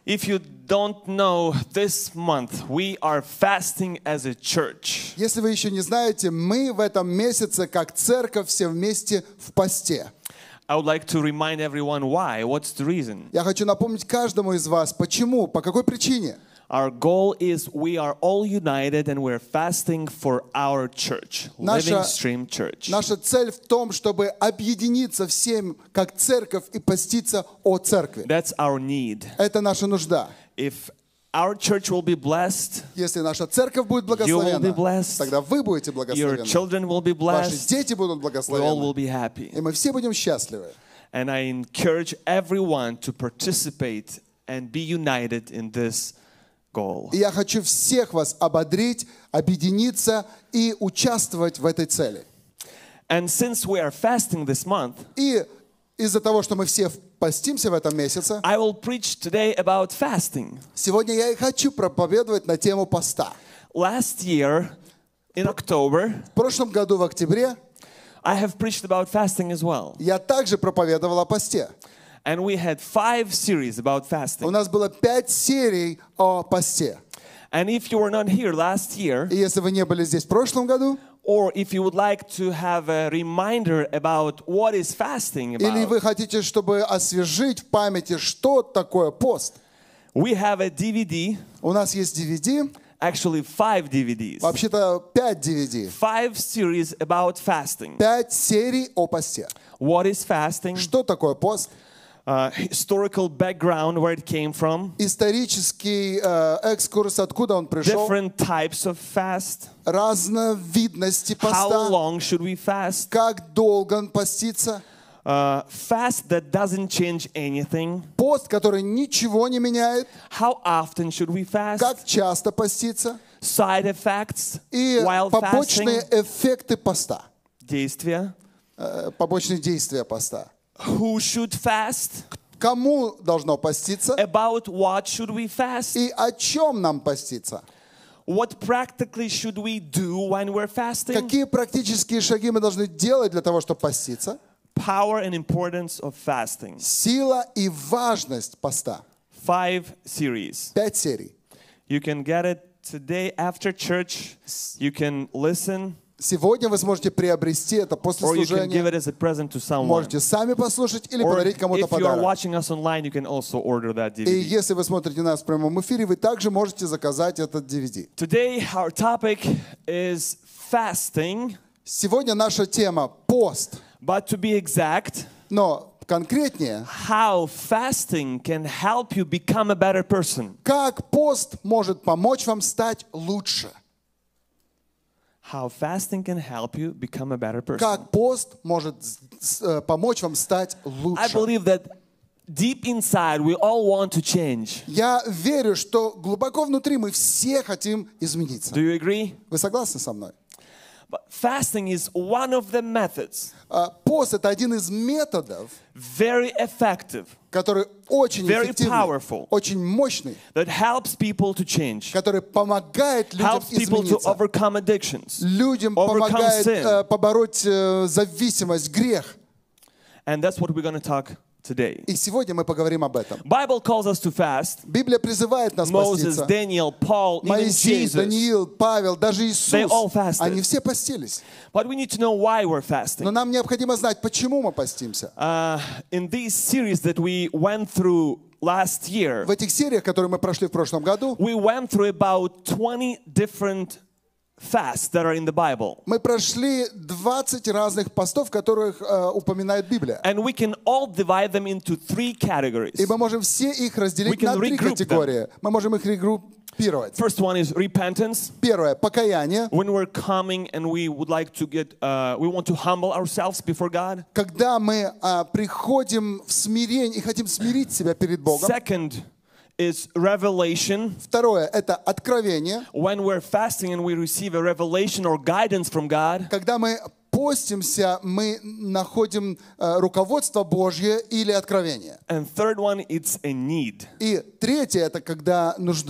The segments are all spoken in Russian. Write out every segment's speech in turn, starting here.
If you don't know, this month we are fasting as a church. Если вы еще не знаете, мы в этом месяце, как церковь, все вместе в посте. I would like to remind everyone why. What's the reason? Я хочу напомнить каждому из вас, почему, по какой причине. Our goal is we are all united and we're fasting for our church, Living Stream Church. Наша цель в том, чтобы объединиться всем, как церковь, и поститься о церкви. That's our need. Это наша нужда. If our church will be blessed, Если наша церковь будет you will be благословена, blessed, тогда вы будете your благословены. children will be Ваши blessed, дети будут we all will благословены. be happy. И мы все будем счастливы. And I encourage everyone to participate and be united in this goal. И я хочу всех вас ободрить, объединиться и участвовать в этой цели. And since we are fasting this month, И из-за того, что мы все постимся в этом месяце, I will preach today about fasting. сегодня я и хочу проповедовать на тему поста. Last year, in October, В прошлом году, в октябре, I have preached about fasting as well. я также проповедовал о посте. And we had 5 series about У fasting. нас было 5 серий о посте. And if you were not here last year, И если вы не были здесь в прошлом году, or if you would like to have a reminder about what is fasting или about, вы хотите, чтобы освежить в памяти, что такое пост, we have a DVD, у нас есть DVD, actually 5 DVDs, вообще-то 5 DVD, 5 series about fasting. 5 серий о посте. What is fasting? Что такое пост? Historical background, where it came from, Исторический экскурс, откуда он пришел, different types of fast, разновидности how поста, long should we fast, как долго он постится, fast that doesn't change anything, пост, который ничего не меняет, how often should we fast, как часто поститься side effects и while побочные fasting, эффекты поста, действия, побочные действия поста. who should fast, Кому должно поститься about what should we fast, и о чем нам поститься? what practically should we do when we're fasting, Какие практические шаги мы должны делать для того, чтобы поститься? power and importance of fasting. Сила и важность поста. 5 series. 5 серий. You can get it today after church. You can listen, Сегодня вы сможете приобрести это после or you can give служения. it as a present to someone. Можете сами послушать или Or подарить кому-то if you are подарок. watching us online, you can also order that И DVD. если вы смотрите нас в прямом эфире, вы также можете заказать этот DVD. Today, our topic is fasting, Сегодня наша тема пост, but to be exact, но конкретнее, how fasting can help you become a better person. как пост может помочь вам стать лучше. How fasting can help you become a better person. Как пост может помочь вам стать I лучше. believe that deep inside we all want to change. Я верю, что глубоко внутри мы все хотим измениться. Do you agree? Вы согласны со мной? But fasting is one of the methods, Пост — это один из методов, very effective, который очень Very эффективный, powerful. очень мощный, that helps people to change, который помогает людям helps people to измениться. overcome addictions. Людям overcome помогает sin. побороть зависимость, грех. And that's what we're going to talk today. И сегодня мы поговорим об этом. Bible calls us to fast. Библия призывает нас Moses, поститься. Daniel, Paul, even Моисей, Jesus. Даниил, Павел, даже They all Иисус, fasted. они все постились. But we need to know why we're Но fasting. нам необходимо знать, почему мы постимся. In these series that we went through last year, В этих сериях, которые мы прошли в прошлом году, we went through about 20 different fasts that are in the Bible. мы прошли 20 разных постов, которых упоминает Библия. And we can all divide them into 3 categories. И мы можем все их разделить We can на 3 regroup категории. Мы можем их регруппировать. First one is repentance. Первое — покаяние. When we're coming and we would like to we want to humble ourselves before God. Когда мы приходим в смирение и хотим смирить себя перед Богом. Second is revelation. Второе — это откровение. When we're fasting and we receive a revelation or guidance from God. Когда мы постимся, мы находим руководство Божье или откровение. And third one, it's a need. И третье — это когда нужда.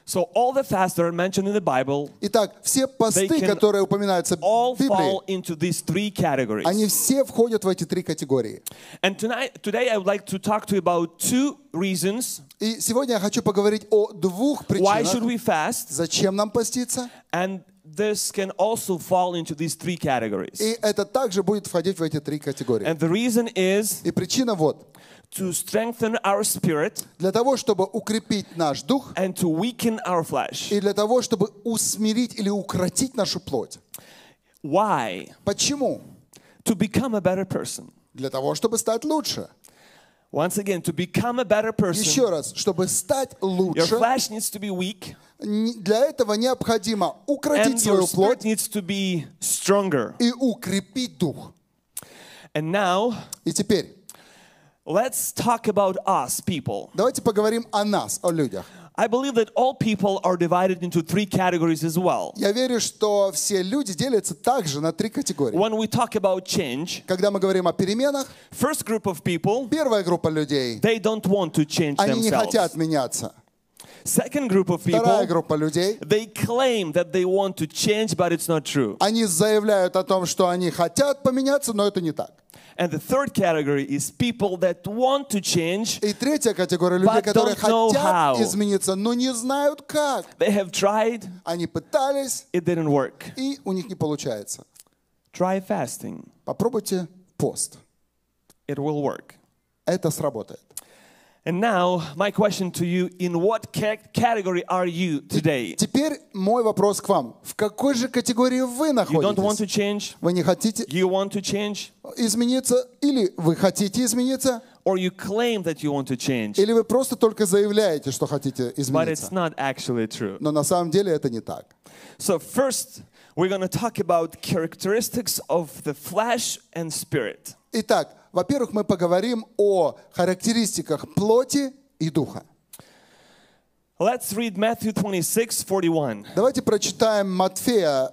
So all the fasts that are mentioned in the Bible, Итак, все посты, can которые упоминаются all в Библии, fall into these three categories. они все входят в эти три категории. And today I would like to talk to you about two reasons И сегодня я хочу поговорить о двух why should причинах, we fast, зачем нам поститься. and this can also fall into these three categories. И это также будет входить в эти три категории. And the reason is И причина вот. to strengthen our spirit Для того, чтобы укрепить наш дух, and to weaken our flesh. и для того, чтобы усмирить или укротить нашу плоть. Why? Почему? To become a better person. Для того, чтобы стать лучше. Once again, to become a better person, Еще раз, чтобы стать your лучше, flesh needs to be weak, для этого необходимо укротить and свою your spirit плоть needs to be stronger. и укрепить дух. And now, И теперь let's talk about us, people. давайте поговорим о нас, о людях. I believe that all people are divided into three categories as well. Я верю, что все люди делятся также на три категории. When we talk about change, Когда мы говорим о переменах, first group of people, первая группа людей, they don't want to change они не хотят themselves. меняться. Second group of Вторая people, группа людей, they claim that they want to change, but it's not true. они заявляют о том, что они хотят поменяться, но это не так. And the third category is people that want to change. И третья категория людей, But которые don't know хотят how. измениться, но не знают как. They have tried, Они пытались, it didn't work. и у них не получается. Try fasting. Попробуйте пост. It will work. Это сработает. And now, my question to you, in what category are you today? Теперь мой вопрос к вам. В какой же категории вы You don't want to находитесь? change? Вы не хотите You want to change? измениться? Или вы хотите измениться? Or you claim that you want to change, Или вы просто только заявляете, что хотите but it's измениться? not actually true. Но на самом деле это не так. So first, we're going to talk about characteristics of the flesh and spirit. Итак, во-первых, мы поговорим о характеристиках плоти и духа. Let's read Matthew 26:41. Давайте прочитаем Матфея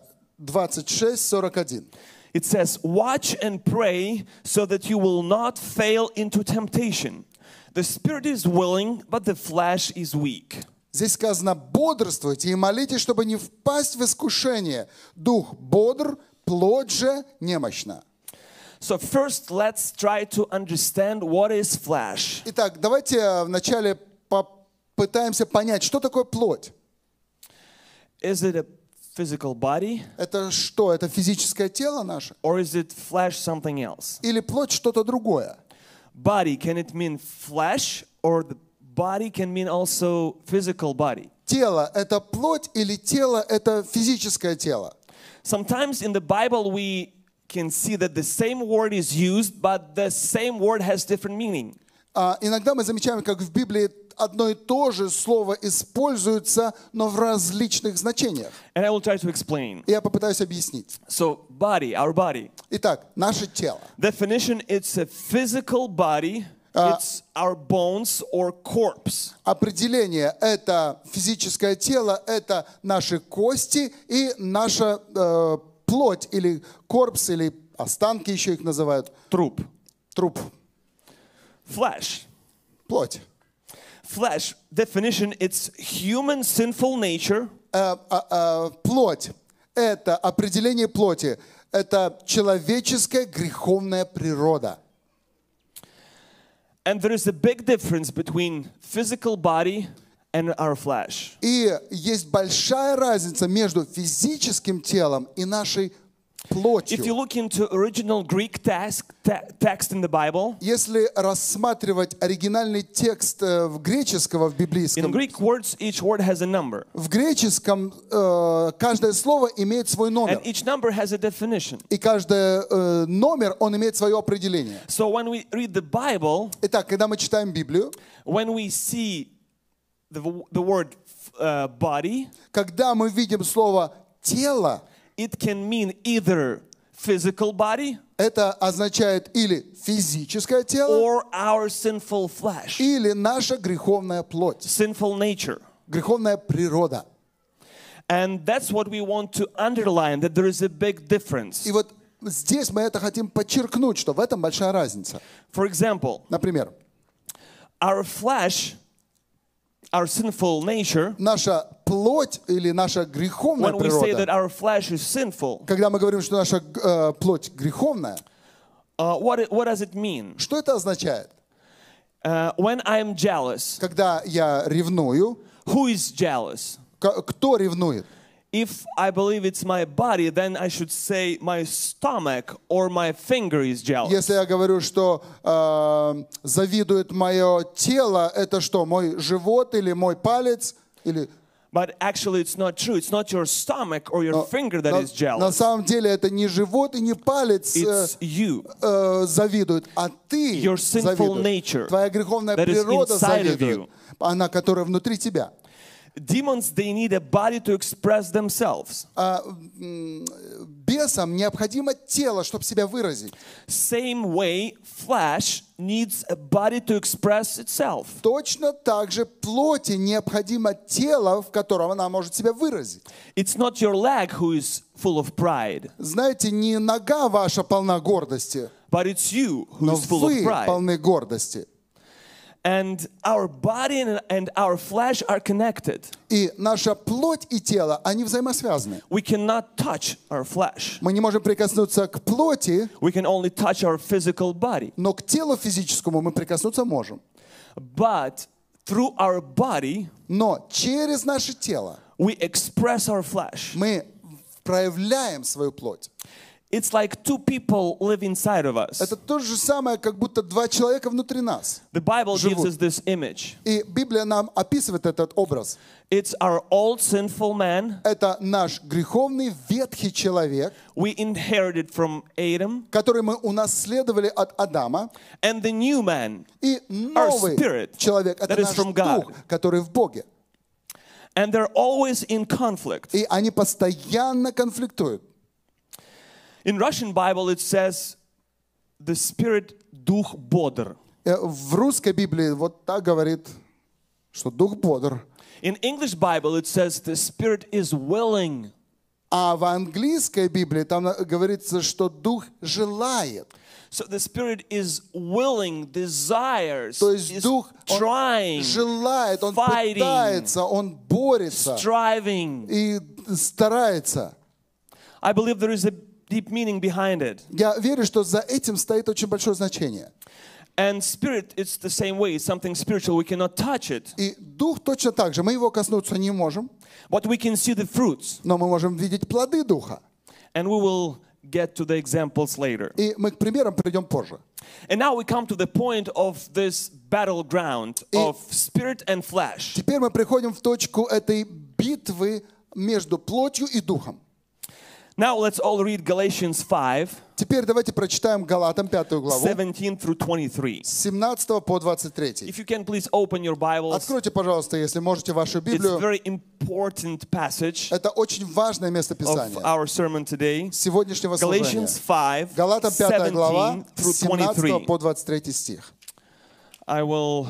26:41. It says, "Watch and pray so that you will not fail into temptation. The spirit is willing, but the flesh is weak." Здесь сказано: бодрствуйте и молитесь, чтобы не впасть в искушение. Дух бодр, плоть же немощна. So first, let's try to understand what is flesh. Итак, давайте вначале попытаемся понять, что такое плоть. Is it a physical body, Это что? Это физическое тело наше? or is it flesh something else? Или плоть что-то другое? Body, can it mean flesh, or the body can mean also physical body? Тело – это плоть или тело – это физическое тело? Sometimes in the Bible we can see that the same word is used, but the same word has different meaning. Иногда мы замечаем, как в Библии одно и то же слово используется, но в различных значениях. And I will try to explain. Я попытаюсь объяснить. So body, our body. Итак, наше тело. Definition, it's a physical body. It's our bones or corpse. Определение – это физическое тело, это наши кости и наша плоть, или корпус, или останки еще их называют. Труп. Труп. Flesh. Плоть. Flesh, definition, it's human sinful nature. Плоть – это определение плоти. Это человеческая греховная природа. And there is a big difference between physical body and our flesh. И есть большая разница между физическим телом и нашей плотью. If you look into original Greek text in the Bible, Если рассматривать оригинальный текст греческого в in библейском, Greek words, each word has a number. в греческом каждое слово имеет свой номер. And each number has a definition. И каждый номер, он имеет свое определение. So when we read the Bible, Итак, когда мы читаем Библию, when we see the word body, когда мы видим слово «тело», it can mean either physical body это означает или физическое тело, or our sinful flesh, или наша греховная плоть, sinful nature. греховная природа. And that's what we want to underline, that there is a big difference. И вот здесь мы это хотим подчеркнуть, что в этом большая разница. For example, Например, our flesh our sinful nature, наша плоть или наша греховная when we say that природа, our flesh is sinful, когда мы говорим, что наша плоть греховная, what does it mean? что это означает? When I'm jealous, Когда я ревную, who is jealous? кто ревнует? If I believe it's my body, then I should say my stomach or my finger is jealous. Если я говорю, что завидует мое тело, это что, мой живот или мой палец? Или... But actually it's not true. It's not your stomach or your finger that is На jealous. самом деле это не живот и не палец It's you. завидует, а ты Your sinful завидуешь. nature Твоя греховная that is природа inside of завидует, you. она, которая внутри тебя. Demons, they need a body to express themselves. Бесам необходимо тело, чтобы себя выразить. Same way, flesh needs a body to express itself. Точно так же плоти необходимо тело, в котором она может себя выразить. It's not your leg who is full of pride, Знаете, не нога ваша полна гордости, but it's you who но is full of вы pride. полны гордости. And our body and our flesh are connected. И наша плоть и тело, они взаимосвязаны. We cannot touch our flesh. Мы не можем прикоснуться к плоти, We can only touch our physical body. но к телу физическому мы прикоснуться можем. But through our body, Но через наше тело we express our flesh. мы проявляем свою плоть. It's like two people live inside of us. Это то же самое, как будто два человека внутри нас. The Bible gives живут. us this image. И Библия нам описывает этот образ. It's our old sinful man. Это наш греховный ветхий человек, We inherited from Adam. который мы унаследовали от Адама. And the new man. И новый spirit человек, это that is наш from God. дух, который в Боге. And they're always in conflict. И они постоянно конфликтуют. In Russian Bible it says the spirit дух бодр. В русской Библии вот так говорит, что дух бодр. In English Bible it says the spirit is willing. А в английской Библии там говорится, что дух желает. So the spirit is willing, desires, То есть is дух он trying, желает, он fighting, пытается, он борется striving. и старается. I believe there is a deep meaning behind it. Я верю, что за этим стоит очень большое значение. And spirit, it's the same way. It's something spiritual. We cannot touch it. И дух точно так же. Мы его коснуться не можем, But we can see the fruits. но мы можем видеть плоды духа. And we will get to the examples later. И мы к примерам придем позже. And now we come to the point of this battleground of spirit and flesh. Теперь мы приходим в точку этой битвы между плотью и духом. Now let's all read Galatians 5, Теперь давайте прочитаем Галатам 5 главу, 17 through 23. с 17 по 23. If you can please open your Bibles. Откройте, пожалуйста, если можете, вашу It's a Библию. very important passage Это очень важное место of Писания our sermon today. сегодняшнего служения. Galatians 5, Галатам 5 глава, 17 through с 17 23. по 23 стих. I will.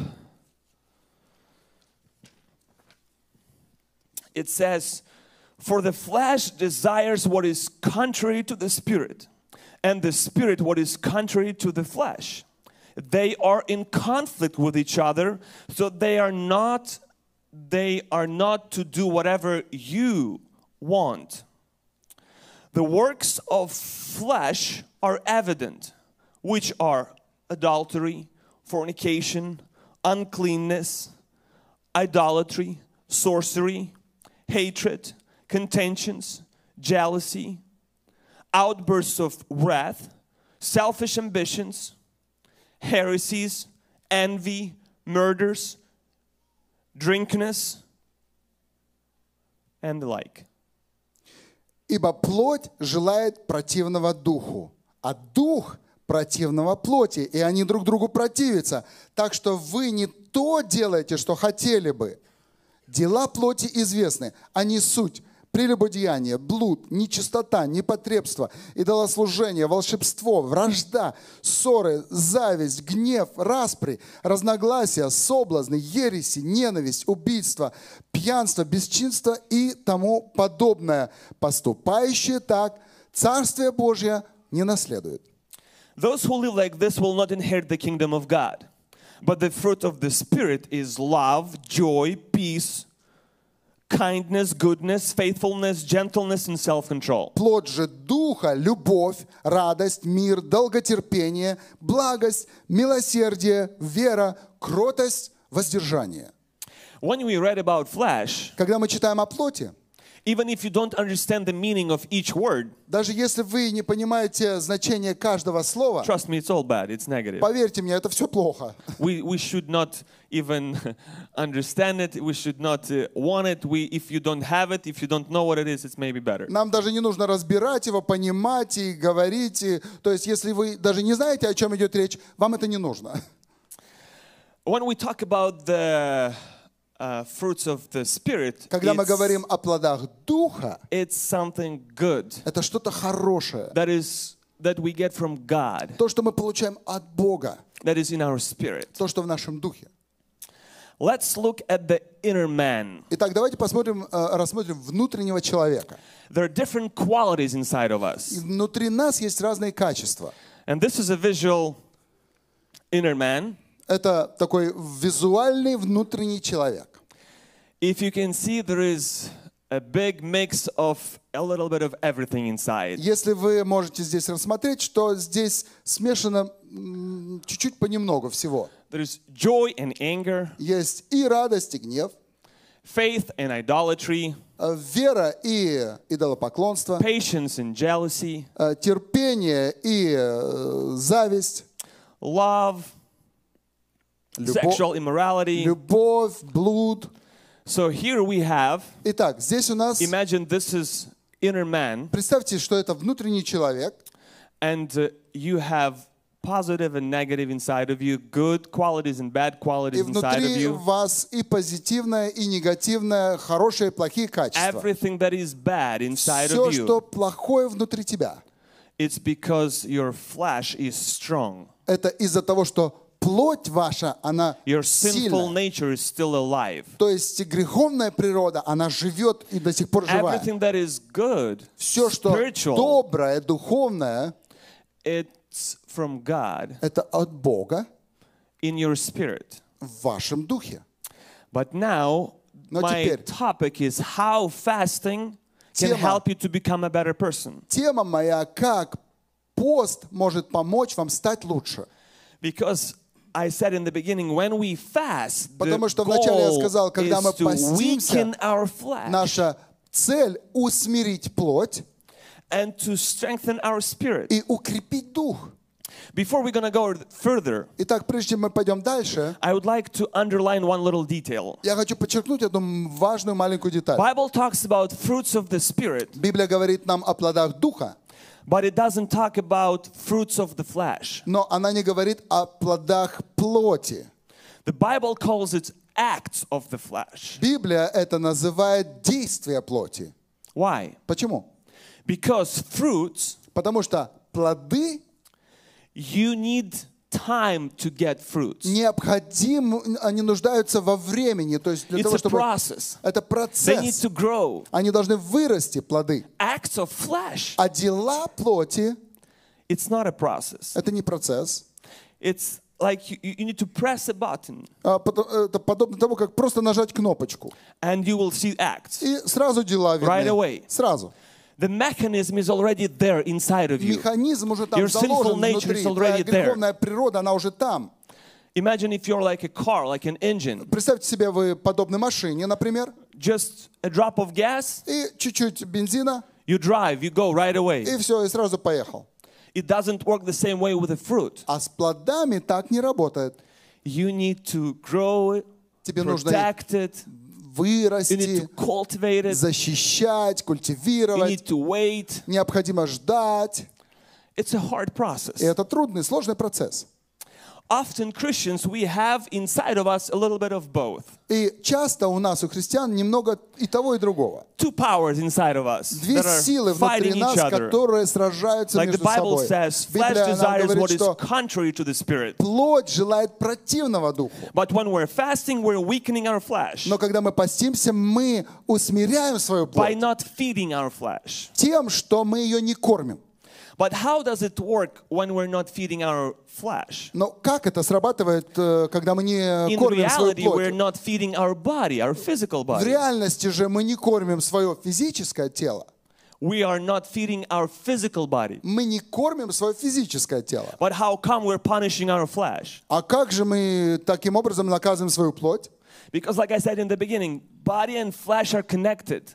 It says, "For the flesh desires what is contrary to the spirit, and the spirit what is contrary to the flesh. They are in conflict with each other, so they are not to do whatever you want. The works of flesh are evident, which are adultery, fornication, uncleanness, idolatry, sorcery, hatred, contentions, jealousy, outbursts of wrath, selfish ambitions, heresies, envy, murders, drunkenness, and the like." «Ибо плоть желает противного духу, а дух противного плоти, и они друг другу противятся. Так что вы не то делаете, что хотели бы. Дела плоти известны, они суть: прелюбодеяние, блуд, нечистота, непотребство, идолослужение, волшебство, вражда, ссоры, зависть, гнев, распри, разногласия, соблазны, ереси, ненависть, убийство, пьянство, бесчинство и тому подобное. Поступающие так Царствие Божье не наследуют». Those who live like this will not inherit the kingdom of God. But the fruit of the Spirit is love, joy, peace, kindness, goodness, faithfulness, gentleness, and self-control. Плод же Духа — любовь, радость, мир, долготерпение, благость, милосердие, вера, кротость, воздержание. When we read about flesh, Когда мы читаем о плоти, even if you don't understand the meaning of each word, даже если вы не понимаете значение каждого слова, trust me, it's all bad. It's negative. поверьте мне, это все плохо. We should not even understand it. We should not want it. If you don't have it, if you don't know what it is, it's maybe better. Нам даже не нужно разбирать его, понимать и говорить. То есть, если вы даже не знаете, о чем идет речь, вам это не нужно. When we talk about the fruits of the Spirit, Когда мы говорим о плодах Духа, it's something good это что-то хорошее. that we get from God, То, что мы получаем от Бога. that is in our spirit. То, что в нашем духе. Let's look at the inner man. Итак, давайте рассмотрим внутреннего человека. There are different qualities inside of И us. внутри нас есть разные качества. And this is a visual inner man. Это такой визуальный внутренний человек. If you can see, there is a big mix of a little bit of everything inside. Если вы можете здесь рассмотреть, что здесь смешано чуть-чуть понемногу всего. There is joy and anger, Есть и радость, и гнев, faith and idolatry, вера и идолопоклонство, patience and jealousy, терпение и зависть, love, sexual immorality. любовь, блуд. So here we have, Итак, здесь у нас, imagine this is inner man, представьте, что это внутренний человек, and you have positive and negative inside of you, good qualities and bad и qualities inside of внутри you. вас и позитивное, и негативное, хорошие и плохие качества. Everything that is bad inside Все, of что you, плохое внутри тебя, it's because your flesh is strong. это из-за того, что плоть ваша, она Your sinful сильная. nature is still alive. То есть греховная природа, она живет и до сих пор живая. Everything that is good, Все, что spiritual, доброе, духовное, it's from God это от Бога in your spirit. в вашем духе. But now, Но my теперь topic is how fasting can Тема. help you to become a better person. Тема моя, как пост может помочь вам стать лучше. Because I said in the beginning, when we fast, the Потому что вначале я goal сказал, когда мы is to постимся, weaken our flesh наша цель — усмирить плоть and to strengthen our spirit. и укрепить дух. Before we're going to go further, Итак, прежде чем мы пойдем дальше, I would like to underline one little detail. я хочу подчеркнуть одну важную маленькую деталь. Bible talks about fruits of the Spirit, Библия говорит нам о плодах духа, but it doesn't talk about fruits of the flesh. но она не говорит о плодах плоти. The Bible calls it acts of the flesh. Библия это называет действия плоти. Why? Почему? Because fruits, Потому что плоды you need time to get fruits. они нуждаются во времени, то есть для It's того, a чтобы... process. Это They need процесс. to grow. Они должны вырасти, плоды. Acts of flesh, А дела плоти it's not a process. — это не процесс. It's like you need to press a button Это подобно тому, как просто нажать кнопочку. and you will see acts. И сразу дела Right видны. away. Сразу. The mechanism is already there inside of you. Механизм уже там Your sinful заложен nature внутри. is already Твоя there. греховная природа, она уже там. Imagine if you're like a car, like an engine. Представьте себе, вы подобны машине, например, Just a drop of gas, и чуть-чуть бензина, you drive, you go right away. и все, и сразу поехал. It doesn't work the same way with a fruit. А с плодами так не работает. You need to grow it, Тебе нужно protect it, you need вырасти, to cultivate it, защищать, you культивировать. need to wait. Необходимо ждать. It's a hard И process. это трудный, сложный процесс. Often Christians, we have inside of us a little bit of both. И часто у нас, у христиан, немного и того, и другого. Two powers inside of us Две that are силы внутри fighting нас, each other. которые сражаются Like the между Bible собой. says, flesh Библия нам desires what говорит, is что contrary to the Spirit. плоть желает противного духу. But when we're fasting, we're weakening our flesh Но когда мы постимся, мы усмиряем свою by плоть not feeding our flesh. тем, что мы ее не кормим. But how does it work when we're not feeding our flesh? Но как это срабатывает, когда мы не In кормим свою reality, we're плоть? not feeding our body, our physical В body. реальности же мы не кормим свое физическое тело. We are not feeding our physical body. Мы не кормим свое физическое тело. But how come we're punishing our flesh? А как же мы таким образом наказываем свою плоть? Because like I said in the beginning, body and flesh are connected.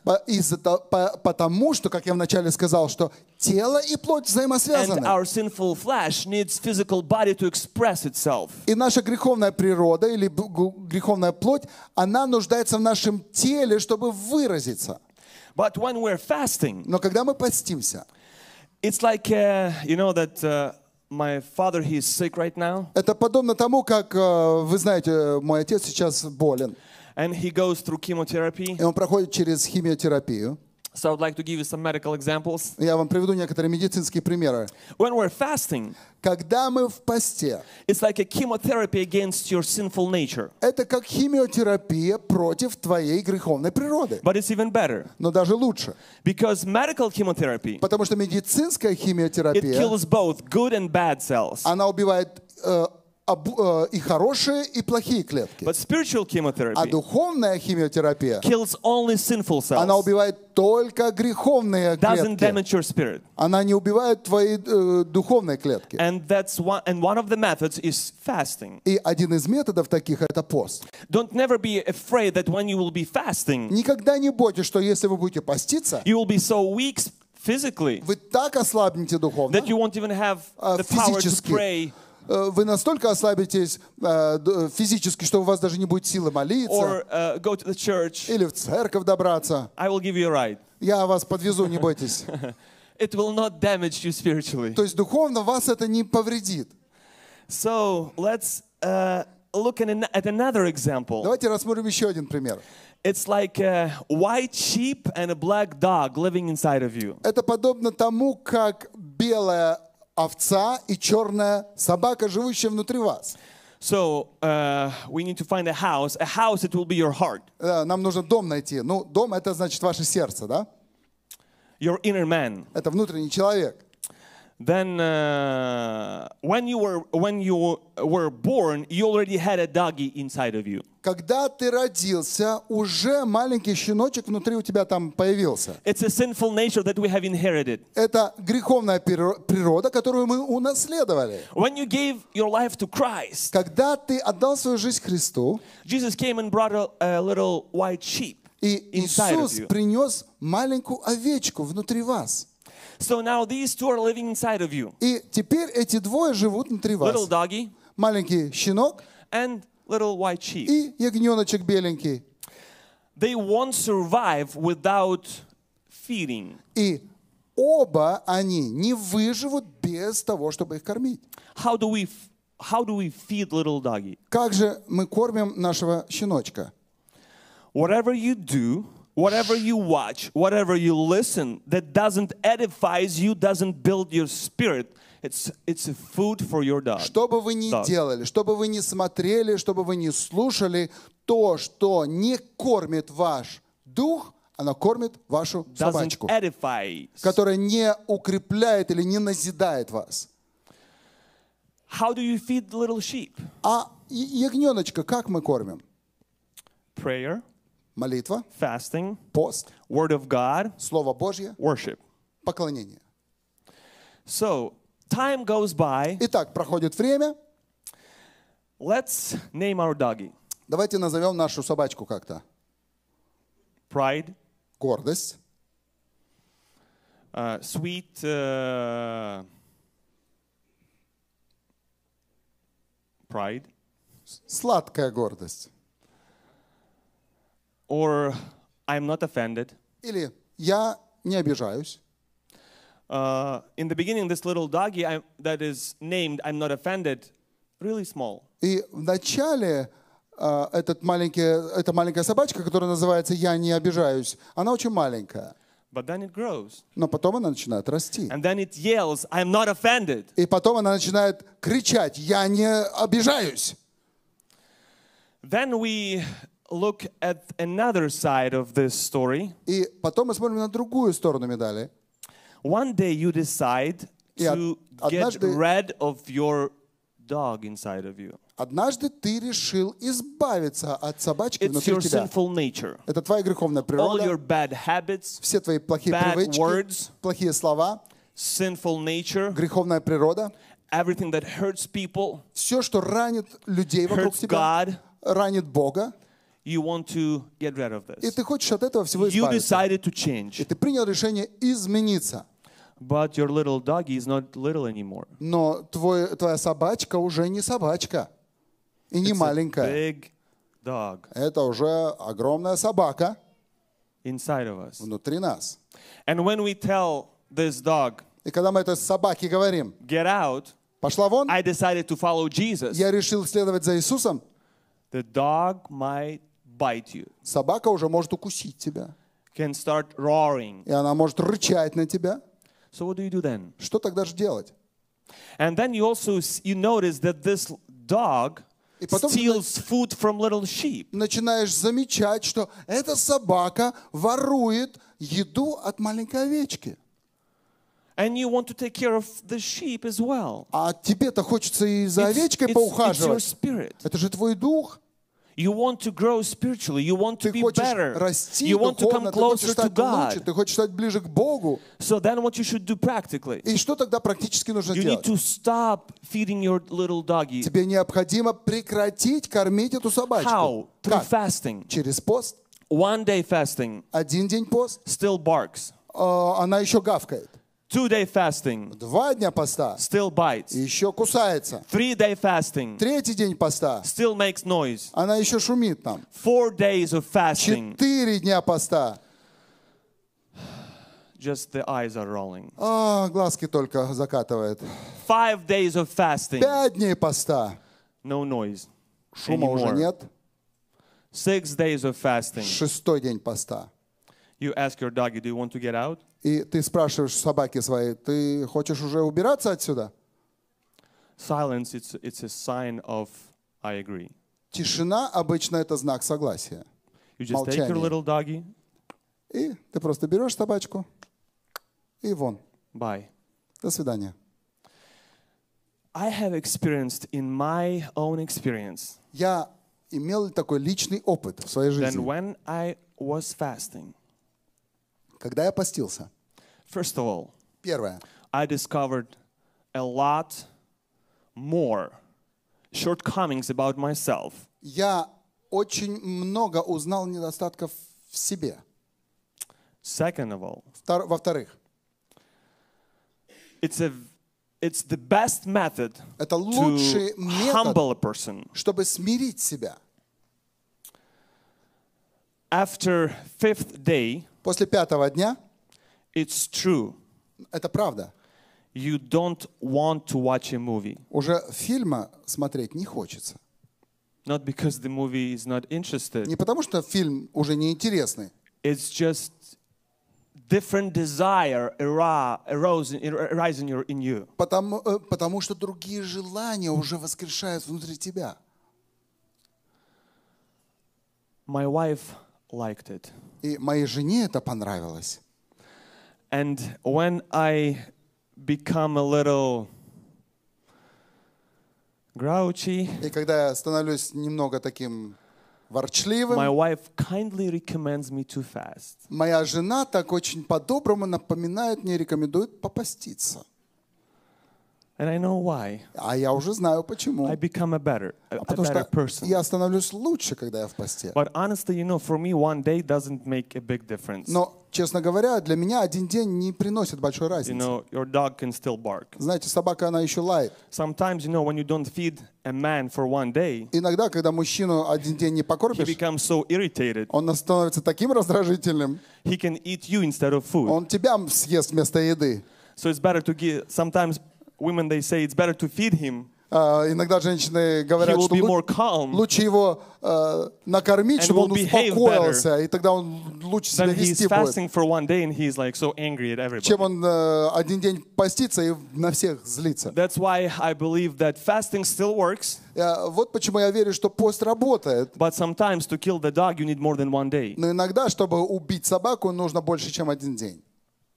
Потому что, как я вначале сказал, что тело и плоть And взаимосвязаны. our sinful flesh needs physical body to express itself. И наша греховная природа или греховная плоть, она нуждается в нашем теле, чтобы выразиться. But when we're fasting, Но когда мы постимся, it's like, you know that my father, he's sick right now. это подобно тому, как, вы знаете, мой отец сейчас болен, And he goes through chemotherapy. и он проходит через химиотерапию. So I would like to give you some medical examples. Я вам приведу некоторые медицинские примеры. When we're fasting, Когда мы в посте, it's like a chemotherapy against your sinful nature. это как химиотерапия против твоей греховной природы. But it's even better. Но даже лучше. Because medical chemotherapy, Потому что медицинская it химиотерапия, kills both good and bad cells. она убивает и хорошие, и плохие клетки. But spiritual А chemotherapy духовная химиотерапия, kills only sinful она cells. убивает только греховные Doesn't клетки. damage your spirit. Она не убивает твои духовные клетки. And one of the methods is fasting. И один из методов таких — это пост. Don't never be afraid that when you will be fasting, Никогда не бойтесь, что если вы будете поститься, you will be so weak physically вы так ослабнете духовно, that you won't even have the power to физически. pray Вы настолько ослабитесь физически, что у вас даже не будет силы молиться or go to the church. или в церковь добраться. I will give you a ride. Я вас подвезу, не бойтесь. It will not damage you spiritually. То есть духовно вас это не повредит. So let's look at another example. Давайте рассмотрим еще один пример. It's like a white sheep and a black dog living inside of you. Это подобно тому, как белая овца и черная собака, живущая внутри вас. So we need to find a house. A house, it will be your heart, Нам нужно дом найти. Ну, дом — это значит ваше сердце, да? your inner man. Это внутренний человек. Then when you were born, you already had a doggy inside of you. Когда ты родился, уже маленький щеночек внутри у тебя там появился. It's a sinful nature that we have inherited. Это греховная природа, которую мы унаследовали. When you gave your life to Christ, Когда ты отдал свою жизнь Христу, Jesus came and brought a little white sheep и inside of Иисус you. принес маленькую овечку внутри вас. So now these two are living inside of you. И теперь эти двое живут внутри Little вас. doggy Маленький щенок and little white sheep. и ягненочек беленький. They won't survive without feeding. И оба они не выживут без того, чтобы их кормить. How do we feed little doggy? Как же мы кормим нашего щеночка? Whatever you do, whatever you watch, whatever you listen that doesn't edify you, doesn't build your spirit, it's a food for your dog. Что бы вы ни Да. делали, что бы вы ни смотрели, что бы вы ни слушали, то, что не кормит ваш дух, оно кормит вашу Doesn't собачку, edify. которая не укрепляет или не назидает вас. How do you feed the little sheep? А ягненочка как мы кормим? Prayer, Молитва, fasting, пост, word of God, Слово Божье, worship. поклонение. So, time goes by. Итак, проходит время. Let's name our doggy. Давайте назовем нашу собачку как-то. Pride, Гордость, sweet, pride, сладкая гордость. or I'm not offended. Или я не обижаюсь. In the beginning, this little doggy that is named I'm not offended, really small. И в начале эта маленькая собачка, которая называется «Я не обижаюсь», она очень маленькая. But then it grows. Но потом она начинает расти. And then it yells, I'm not offended. И потом она начинает кричать «Я не обижаюсь». Then we look at another side of this story. И потом мы смотрим на другую сторону медали. One day you decide И to get однажды- rid of your dog inside of you. Однажды ты решил избавиться от собачки It's внутри your тебя. sinful nature. Это твоя греховная All your природа, bad habits, все твои плохие bad привычки, words. плохие слова, sinful nature, греховная природа, everything that hurts people, все, что ранит людей вокруг hurts тебя, God, ранит Бога, you want to get rid of и this. ты хочешь от этого всего You избавиться. decided to И change, ты принял решение измениться. but your little doggy is not little anymore. Но твоя собачка уже не собачка и не It's a маленькая. big dog Это уже огромная собака inside of us. внутри нас. And when we tell this dog, И когда мы этой собаке говорим, get out, пошла вон, I decided to follow Jesus, я решил следовать за Иисусом, the dog might bite you, собака уже может укусить тебя. can start roaring. И она может рычать на тебя. So what do you do then? Что тогда же делать? And then you also you notice that this dog И потом ты steals food from little sheep. начинаешь замечать, что эта собака ворует еду от маленькой овечки. And you want to take care of the sheep as well. А тебе-то хочется и за It's овечкой your поухаживать. spirit. Это же твой дух. You want to grow spiritually. You want to Ты be хочешь better. расти You want to come духовно, ты хочешь closer to стать лучше, God. ты хочешь стать ближе к Богу. So then what you should do practically? И что тогда практически нужно You need делать? to stop feeding your little doggy. Тебе необходимо прекратить кормить эту собачку. How? Through Как? fasting. Через пост. One day fasting Один день пост, still barks. она еще гавкает. 2-day fasting 2 дня поста, still bites. еще кусается. 3-day fasting 3-й день поста, still makes noise. она еще шумит там. 4 days of fasting, 4 дня поста, just the eyes are rolling. глазки только закатывает. 5 days of fasting, 5 дней поста, no noise шума уже anymore. нет. 6 days of fasting. 6-й день поста. You ask your doggy, do you want to get out? И ты спрашиваешь собаки своей, ты хочешь уже убираться отсюда? Silence, it's a sign of I agree. Тишина обычно это знак согласия. You just take your Молчание. little doggy, И ты просто берешь собачку и вон. bye. До свидания. I have experienced in my own experience Я имел такой личный опыт в своей that жизни. when I was fasting, Когда я постился, first of all, первое, I discovered a lot more shortcomings about myself. я очень много узнал недостатков в себе. Second of all, Во-вторых, it's the best method это to лучший метод, humble a person. чтобы смирить себя. After 5th day, После 5-го дня, it's true, это правда, you don't want to watch a movie. уже фильма смотреть не хочется. Not because the movie is not interested. Не потому, что фильм уже неинтересный. It's just different desire arise in you. Потому что другие желания уже воскрешают внутри тебя. My wife liked it. И моей жене это понравилось. And when I become a little grouchy, И когда я становлюсь немного таким ворчливым, my wife kindly recommends me to fast. моя жена так очень по-доброму напоминает мне, рекомендует попаститься. And I know why. А я уже знаю почему. I become a better Потому что person. я становлюсь лучше, когда я в посте. But honestly, for me, one day doesn't make a big difference. Но, честно говоря, для меня один день не приносит большой разницы. Your dog can still bark. Знаете, собака, она еще лает. Sometimes, when you don't feed a man for one day, Иногда, когда мужчину один день не he покормишь, becomes so irritated. он становится таким раздражительным, He can eat you instead of food. он тебя съест вместо еды. So it's better to give. Sometimes women, they say it's better to feed him. Иногда женщины He говорят, will что be more calm лучше его накормить, and чтобы он will behave успокоился, и тогда он лучше себя than he's вести будет, fasting for one day and he's like so angry at everybody. чем он один день постится и на всех злится. That's why I believe that fasting still works, Вот почему я верю, что пост работает. but sometimes to kill the dog you need more than one day. Но иногда, чтобы убить собаку, нужно больше, чем один день.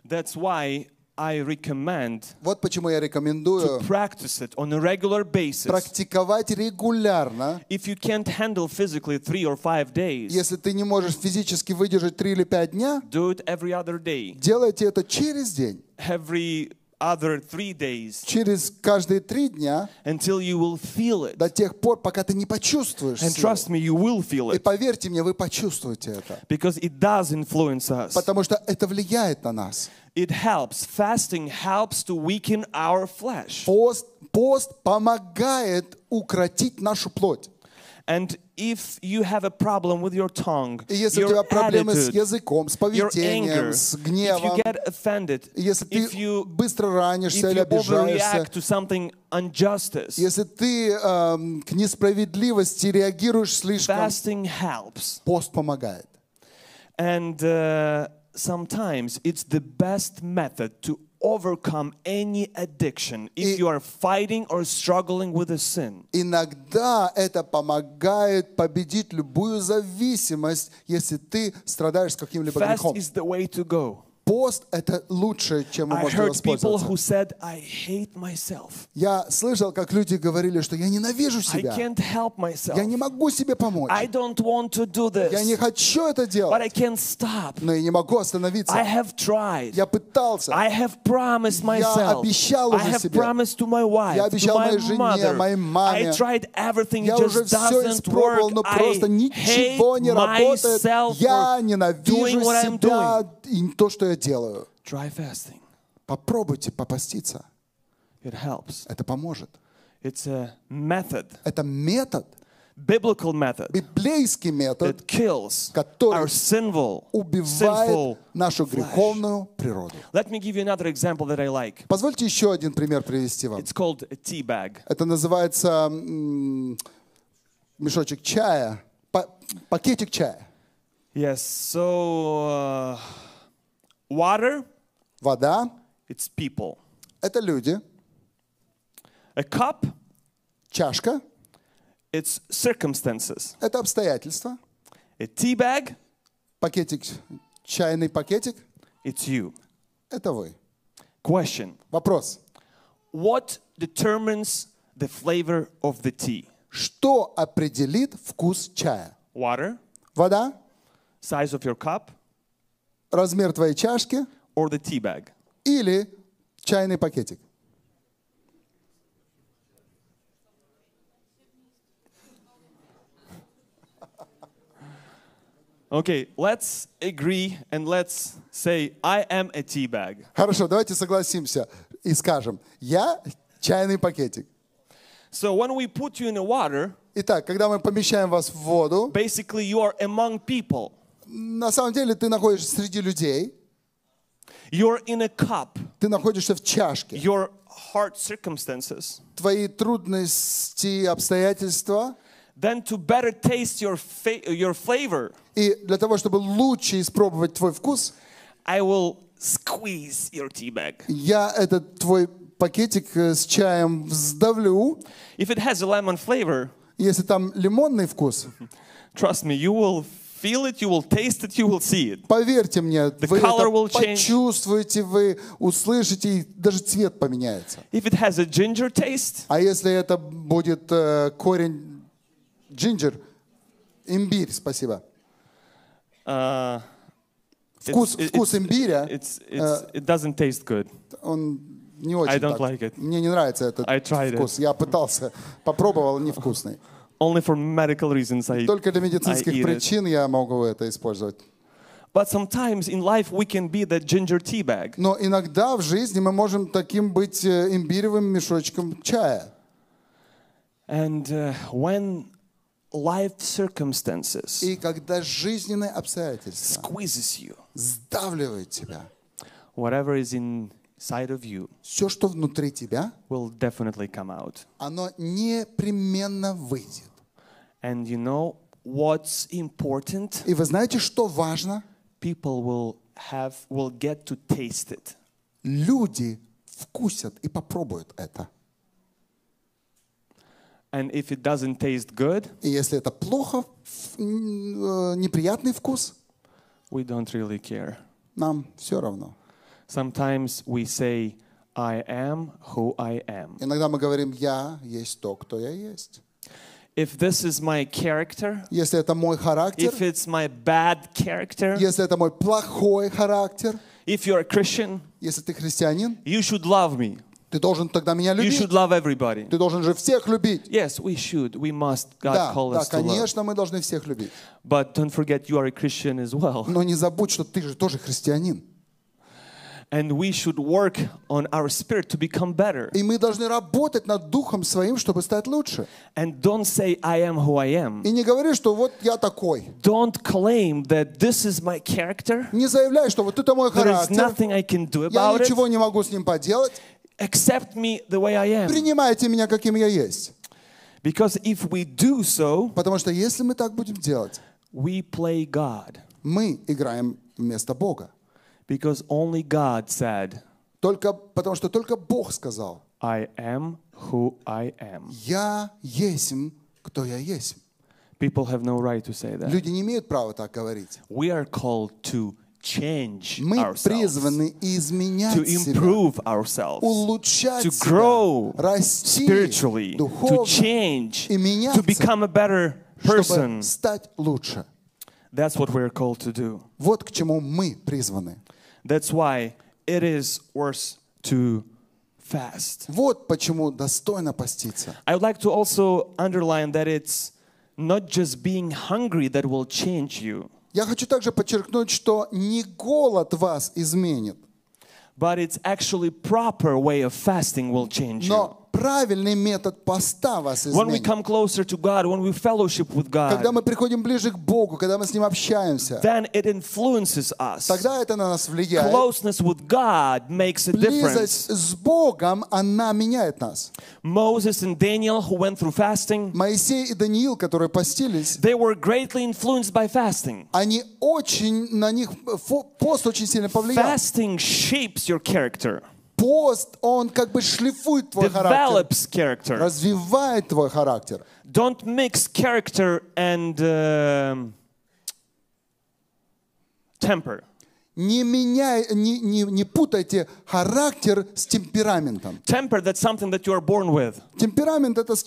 That's why I recommend Вот почему я to рекомендую practice it on a regular basis. практиковать регулярно. If you can't handle physically 3 or 5 days, Если ты не можешь физически выдержать 3 или 5 дня, do it every other day. делайте это через день, Every other 3 days через каждые 3 дня, until you will feel it. до тех пор, пока ты не почувствуешь And силу. trust me, you will feel И it. поверьте мне, вы почувствуете это. Because it does influence us. Потому что это влияет на нас. It helps. Fasting helps to weaken our flesh. Пост помогает укротить нашу плоть. And if you have a problem with your tongue, И если у тебя your проблемы с attitude, языком, с your поведением, anger, с if you гневом, get offended, если ты if you быстро ранишься или overreact обижаешься, to something injustice, если ты к несправедливости реагируешь слишком, fasting helps. пост помогает. And sometimes it's the best method to overcome any addiction if you are fighting or struggling with a sin. Иногда это помогает победить любую зависимость, если ты страдаешь каким-либо Fast грехом. is the way to go. Пост — это лучшее, чем вы I можете heard people воспользоваться. who said, I hate myself. Я слышал, как люди говорили, что я ненавижу I себя. can't help myself. Я не могу себе помочь. I don't want to do Я не this, хочу это but I делать, can't stop. но я не могу I остановиться. have tried. Я пытался. I have promised myself. обещал I уже have себе. promised to my wife, Я to обещал my моей жене, mother. моей маме. I tried everything, Я it уже just все doesn't испробовал, work. но просто I ничего hate не работает. myself Я for ненавижу doing what I'm себя doing. и то, что я делаю. Try fasting. Попробуйте попаститься. It helps. Это поможет. It's a method, Это метод, biblical method библейский метод, that kills который our sinful убивает нашу греховную природу. Let me give you another example that I like. Позвольте еще один пример привести вам. It's called a tea bag. Это называется мешочек чая, пакетик чая. Yes, so water, Вода it's people. — это люди. A cup, Чашка it's circumstances. — это обстоятельства. A tea bag, Пакетик, чайный пакетик it's you. — это вы. Question. Вопрос. What determines the flavor of the tea? Что определит вкус чая? Water, Вода, size of your cup, размер твоей чашки or the tea bag? или чайный пакетик? Okay, let's agree and let's say I am a tea bag. Хорошо, давайте согласимся и скажем: я чайный пакетик. So when we put you in the water, Итак, когда мы помещаем вас в воду, basically you are among people. на самом деле ты находишься среди людей, You're in a cup. ты находишься в чашке. Your hard circumstances. Твои трудности, обстоятельства. Then to better taste your flavor, И для того, чтобы лучше испробовать твой вкус, I will squeeze your tea bag. я этот твой пакетик с чаем вздавлю. If it has a lemon flavor, Если там лимонный вкус, trust me, you will feel it, you will taste it, you will see it. поверьте мне, вы color это will change. почувствуете, вы услышите, и даже цвет поменяется. If it has a ginger taste, А если это будет корень джинджер, имбирь, спасибо. Вкус имбиря, it doesn't taste good. он не очень I don't так. like it. Мне не нравится этот I tried вкус. Я пытался, попробовал, невкусный. Only for medical reasons I Только для eat медицинских it. причин я могу это использовать. But sometimes in life we can be that ginger tea bag. Но иногда в жизни мы можем таким быть имбиревым мешочком чая. And when life circumstances И когда жизненные обстоятельства squeezes you, сдавливают тебя, whatever is inside of you все, что внутри тебя, will definitely come out. оно непременно выйдет. And you know what's important? И вы знаете, что важно? People will get to taste it. Люди вкусят и попробуют это. And if it doesn't taste good, И если это плохо, неприятный вкус, we don't really care. нам все равно. Sometimes we say, I am who I am. Иногда мы говорим, я есть то, кто я есть. If this is my character, Если это мой характер, if it's my bad character, если это мой плохой характер, if you're a Christian, если ты христианин, you should love me. ты должен тогда меня You любить. should love everybody. Ты должен же всех любить. Yes, we should. We must. God Да, called да, us to love. конечно, мы должны всех любить. But don't forget, you are a Christian as well. Но не забудь, что ты же тоже христианин. And we should work on our spirit to become better. И мы должны работать над духом своим, чтобы стать лучше. And don't say, I am who I am. И не говори, что вот я такой. Don't claim that this is my character. Не заявляй, что вот это мой There is характер. nothing I can do Я about it. ничего не могу с ним поделать. Accept me the way I am. Принимайте меня, каким я есть. Because if we do so, Потому что если мы так будем делать, we play God. мы играем вместо Бога. Because only God said, Потому что только Бог сказал, I am who I am. я есмь, кто я есть. People have no right to say that. Люди не имеют права так говорить. We are called to change Мы ourselves, призваны изменять to себя, improve ourselves, улучшать to себя, grow расти spiritually, to духовно change, и меняться, to become a better person. чтобы стать лучше. That's what we're called to do. Вот к чему мы призваны. That's why it is worth to fast. Вот почему достойно поститься. I would like to also underline that it's not just being hungry that will change you, Я хочу также подчеркнуть, что не голод вас изменит, but it's actually proper way of fasting will change you. но правильный метод поста вас When we изменит. come closer to God, when we fellowship with Когда God, мы приходим ближе к Богу, когда мы с Ним общаемся, then it influences us. тогда это на нас влияет. Closeness with God makes a difference. Близость с Богом, она меняет нас. Moses and Daniel, who went through fasting, Моисей и Даниил, которые постились, they were greatly influenced by fasting. они очень, на них пост очень сильно повлиял. Fasting shapes your character, Пост, он как бы шлифует твой характер, develops character. развивает твой характер. Don't mix character and temper. Не путайте характер с темпераментом. Temper, that's something that you are born with. Темперамент — это с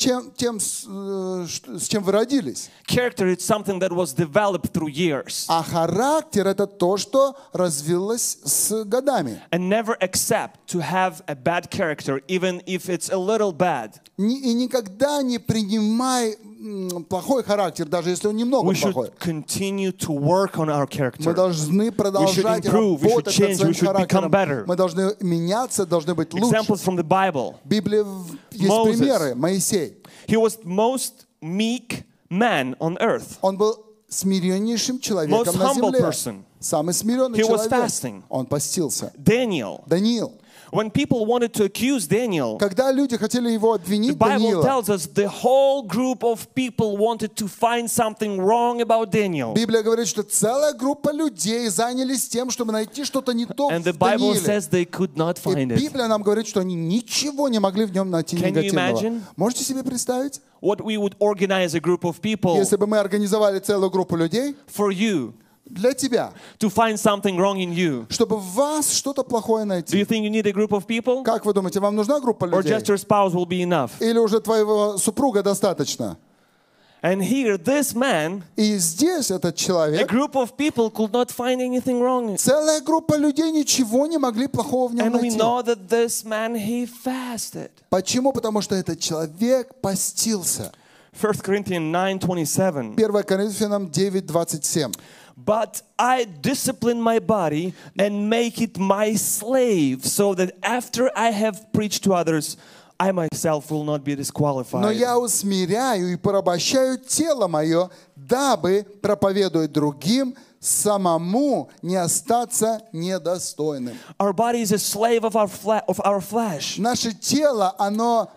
чем вы родились. Character is something that was developed through years. А характер — это то, что развилось с годами. And never accept to have a bad character, even if it's a little bad. И никогда не принимай плохой характер, даже если он немного We should плохой. continue to work on our Мы character. должны продолжать improve, we should работать change, над своим we should become характером. better. Мы должны меняться, должны быть лучше. Examples from the Bible. В Библии есть Moses. примеры. Моисей. He was the most meek man on earth. Он был смиреннейшим человеком Most на humble земле. person. Самый смиренный He was человек. fasting. Он постился. Daniel. Даниил. When people wanted to accuse Daniel, Когда люди хотели его the обвинить, Bible Даниила, tells us the whole group of people wanted to find something wrong about Daniel. Библия говорит, что целая группа людей занялись тем, чтобы найти что-то не то And the в Bible Данииле. says they could not И find it. Библия нам говорит, что они ничего не могли в нем найти Can you негативного. imagine? Можете себе представить? What we would organize a group of people Если бы мы организовали целую группу людей for you для тебя, to find something wrong in you. чтобы в вас что-то плохое Do найти. you think you need a group of people? Как вы думаете, вам нужна группа Or людей? just your spouse will be enough? Или уже твоего супруга достаточно? And here, this man, И здесь этот a человек, group of people could not find anything wrong. целая группа людей ничего не могли плохого в нем And we найти. know that this man, he fasted. Почему? Потому что этот человек постился. 1 Corinthians 9:27. 1 Коринфянам 9:27. But I discipline my body and make it my slave, so that after I have preached to others, I myself will not be Но disqualified. я усмиряю и порабощаю тело мое, дабы, проповедуя другим, самому не остаться недостойным. Our body is a slave of our flesh. Наше тело, оно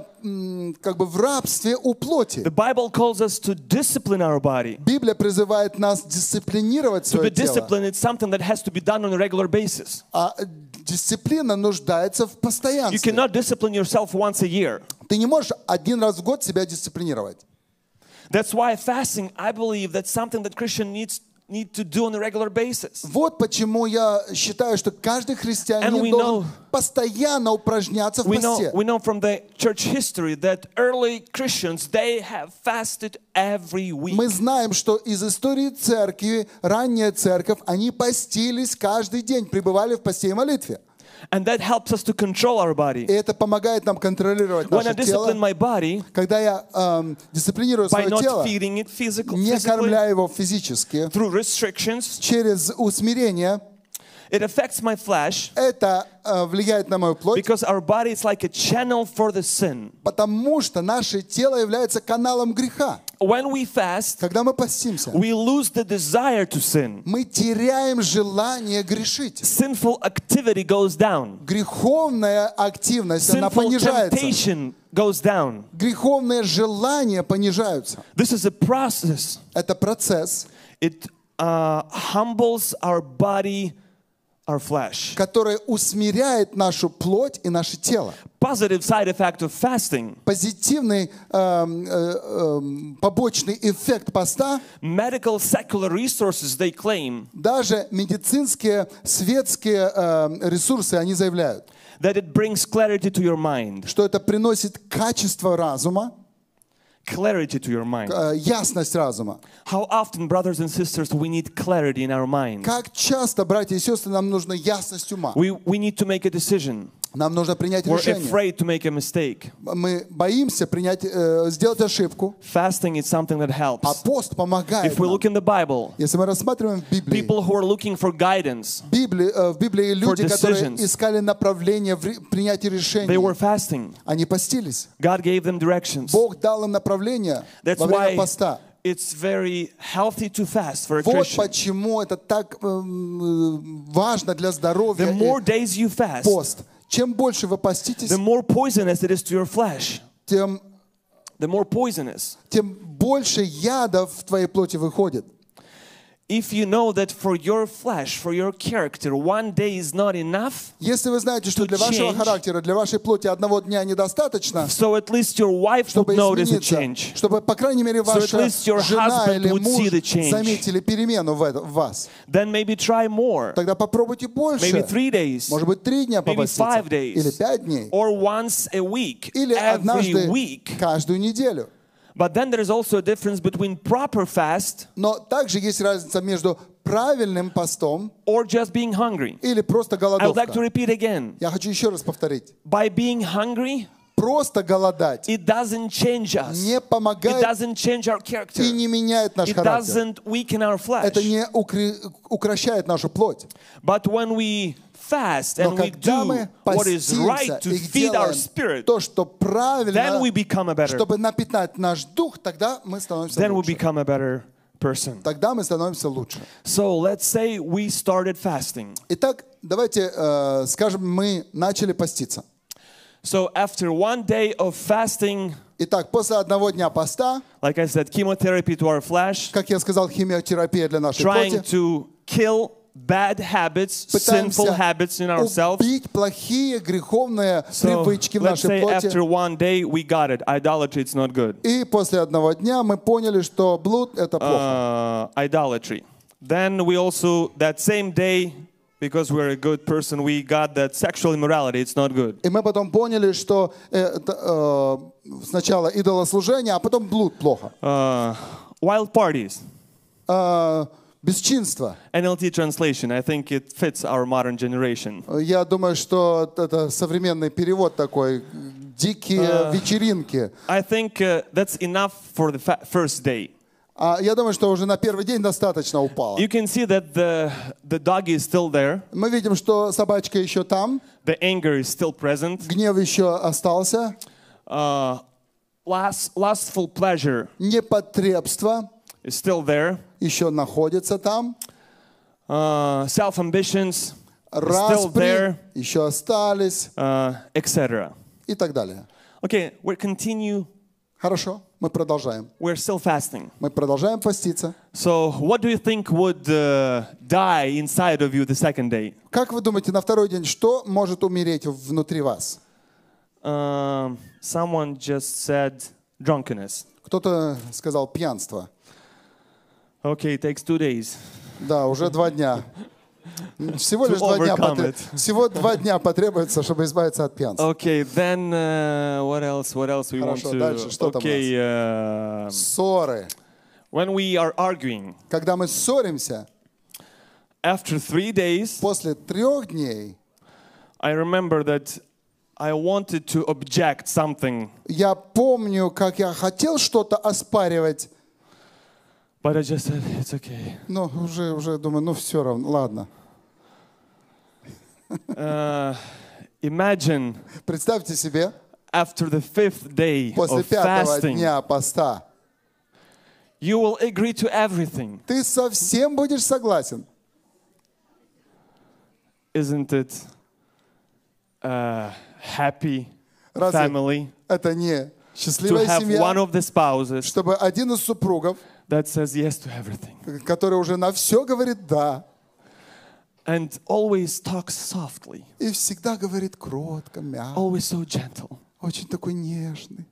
как бы в рабстве у плоти. The Bible calls us to discipline our body. Библия призывает нас дисциплинировать To свое be тело. disciplined is something that has to be done on a regular basis. А дисциплина нуждается в You постоянстве. cannot discipline yourself once a year. Ты не можешь один раз в год себя дисциплинировать. That's why fasting, I believe, that's something that Christian need to do on a regular basis. Вот почему я считаю, что каждый And христианин we должен know- постоянно упражняться в We посте. know from the church history that early Christians, they have fasted every week. Мы знаем, что из истории церкви, ранняя церковь, они постились каждый день, пребывали в посте и молитве. And that helps us to control our body. И это помогает нам контролировать When I наше тело. discipline my body Когда я дисциплинирую by свое not тело, feeding it physically, не кормля его физически, through restrictions, через усмирение, it affects my flesh это влияет на мою плоть, because our body is like a channel for the sin. потому что наше тело является каналом греха. When we fast, Когда мы постимся, we lose the desire to sin. мы теряем желание грешить. Sinful activity goes down. Греховная активность, она Sinful понижается. temptation goes down. Греховные желания понижаются. This is a process. Это процесс, It humbles our body, our flesh. который усмиряет нашу плоть и наше тело. Positive side effect of fasting. Позитивный побочный эффект поста, Medical secular resources, they claim даже медицинские светские ресурсы, они заявляют, that it brings clarity to your mind. что это приносит качество разума, Clarity to your mind. ясность разума. How often, brothers and sisters, we need clarity in our mind. Как часто, братья и сестры, нам нужна ясность ума. We need to make a decision. Нам нужно принять We're решение. afraid to make a mistake. Мы боимся сделать ошибку, Fasting is something that а helps. пост помогает If we нам. look in the Bible, Если мы рассматриваем в Библии, people who are looking for guidance, в Библии люди, которые decisions. искали направление в принятии they решений, were fasting. они постились. God gave them directions. Бог дал им направление That's во время why поста. it's very healthy to fast for a Вот Christian. почему это так важно для здоровья The more и days you fast, пост. Чем больше вы поститесь, the more poisonous it is to your flesh. тем The more poisonous. больше яда в твоей плоти выходит. If you know that for your flesh, for your character, one day is not enough, Если вы знаете, что для вашего change. характера, для вашей плоти одного дня недостаточно, so at least your wife would чтобы notice a измениться, change. чтобы, по крайней мере, ваша least your жена husband или would see the муж change. заметили перемену в вас, Then maybe try more. тогда попробуйте больше. Maybe 3 days. Может быть, 3 дня Maybe попаститься. 5 days. Или 5 дней. Or once a week. Или Every однажды week. каждую неделю. But then there is also a difference between proper fast Но также есть разница между правильным постом or just being hungry. или просто I would like to голодовка. repeat again. Я хочу еще раз повторить. By being hungry, Просто голодать it doesn't change us. не It помогает doesn't change our character. и не меняет наш It характер. doesn't weaken our flesh. Это не укращает нашу плоть. But when we fast Но and we когда do мы what is right постимся to и feed our делаем spirit, то, что then правильно, we become a better. чтобы напитать наш дух, тогда мы становимся Then we лучше. become a better person. Тогда мы становимся лучше. So let's say we started fasting. Итак, давайте скажем, мы начали поститься. So after one day of fasting, Итак, после одного дня поста, like I said, chemotherapy to our flesh, как я сказал, химиотерапия для нашей trying плоти, to kill bad habits, sinful пытаемся habits in ourselves. убить плохие греховные So привычки в let's нашей say плоти. after one day we got it. Idolatry, it's not good. И после одного дня мы поняли, что блуд — это плохо. Idolatry. Then we also, that same day, because we're a good person, we got that sexual immorality, it's not good. И мы потом поняли, что сначала идолослужение, а потом блуд плохо. Wild parties. Бесчинство. NLT translation, I think it fits our modern generation. Я думаю, что это современный перевод такой. Дикие вечеринки. I think that's enough for the first day. Я думаю, что уже на первый день достаточно упало. You can see that the doggy is still there. Мы видим, что собачка еще там, The anger is still present. гнев еще остался, Lustful pleasure непотребство is still there. еще находится там, Self-ambitions still распри there, еще остались etc. и так далее. Okay, we continue. Хорошо, мы продолжаем. We're still fasting. Мы продолжаем поститься. So, what do you think would die inside of you the second day? Как вы думаете, на второй день что может умереть внутри вас? Someone just said drunkenness. Кто-то сказал пьянство. Okay, it takes 2 days. Да, уже 2 дня. Всего лишь 2 дня, overcome всего 2 дня потребуется, чтобы избавиться от пьянства. Okay, then what else? What else we Хорошо, want to? дальше что там у Okay, Ссоры. when we are arguing, Когда мы ссоримся, after 3 days, после 3 дней, I remember that I wanted to object something, я помню, как я хотел что-то оспаривать, but I just said it's okay. но уже думаю, ну все равно, ладно. Imagine Представьте себе, after the 5th day после of 5-го fasting, дня поста, you will agree to everything. ты совсем будешь согласен. Isn't it happy Разве family это не to счастливая have one семья, of the spouses чтобы один из супругов, that says yes to everything который уже на все говорит «да», and always talks softly, и всегда говорит кротко, мягко, always so gentle? очень такой нежный.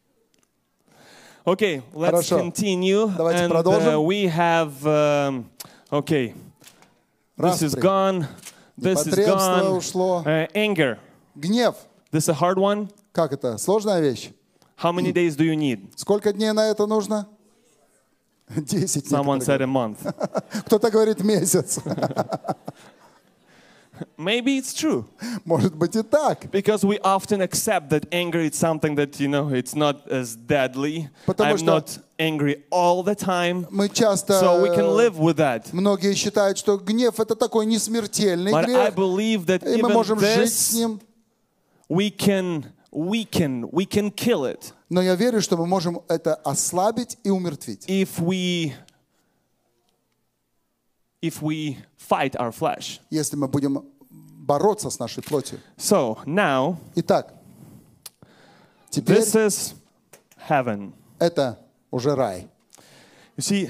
Okay, let's Хорошо. continue. Давайте And продолжим. we have, okay, this is Распри. gone, this is Непотребство gone. ушло. Anger, Гнев. this is a hard one. Как это? Сложная вещь. How many days do you need? Сколько дней на это нужно? 10 Someone некоторые said a month. говорят. Кто-то говорит месяц. Maybe it's true. Может быть и так. Because we often accept that anger is something that, you know, it's not as deadly. Потому I'm что not angry all the time. Мы часто, So we can live with that. многие считают, что гнев это такой несмертельный But I грех, believe that и мы even можем жить с this, ним. we can kill it Но я верю, что мы можем это ослабить и умертвить, if we fight our flesh. если мы будем бороться с нашей плотью. So now, Итак, теперь this is heaven. это уже рай. You see,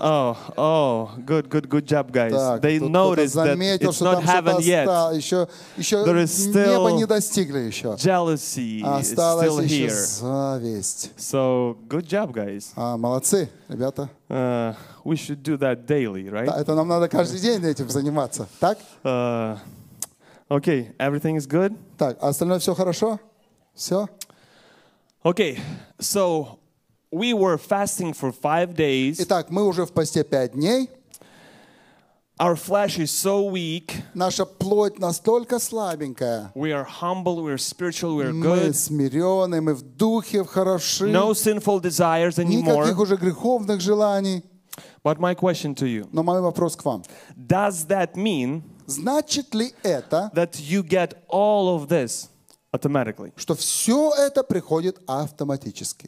good job, guys. Так, They тут кто-то noticed that заметил, it's что not там heaven что-то yet. осталось. Еще There is небо still не достигли еще. Jealousy is Осталась still еще here. зависть. So good job, guys. Молодцы, ребята. We should do that daily, Да, right? это нам надо каждый день этим заниматься. Так? Okay, everything is good. Так, а остальное все хорошо? Все? Okay, so we were fasting for 5 days. Итак, мы уже в посте 5 дней. Our flesh is so weak. Наша плоть настолько слабенькая. We are humble, we are spiritual, we are Мы good. смиренные, мы в духе, хороши. No sinful desires anymore. Никаких уже греховных желаний. But my question to you, Но мой вопрос к вам. does that mean Значит ли это, that you get all of this automatically? что все это приходит автоматически?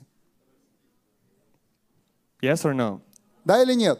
Yes or no? Да или нет?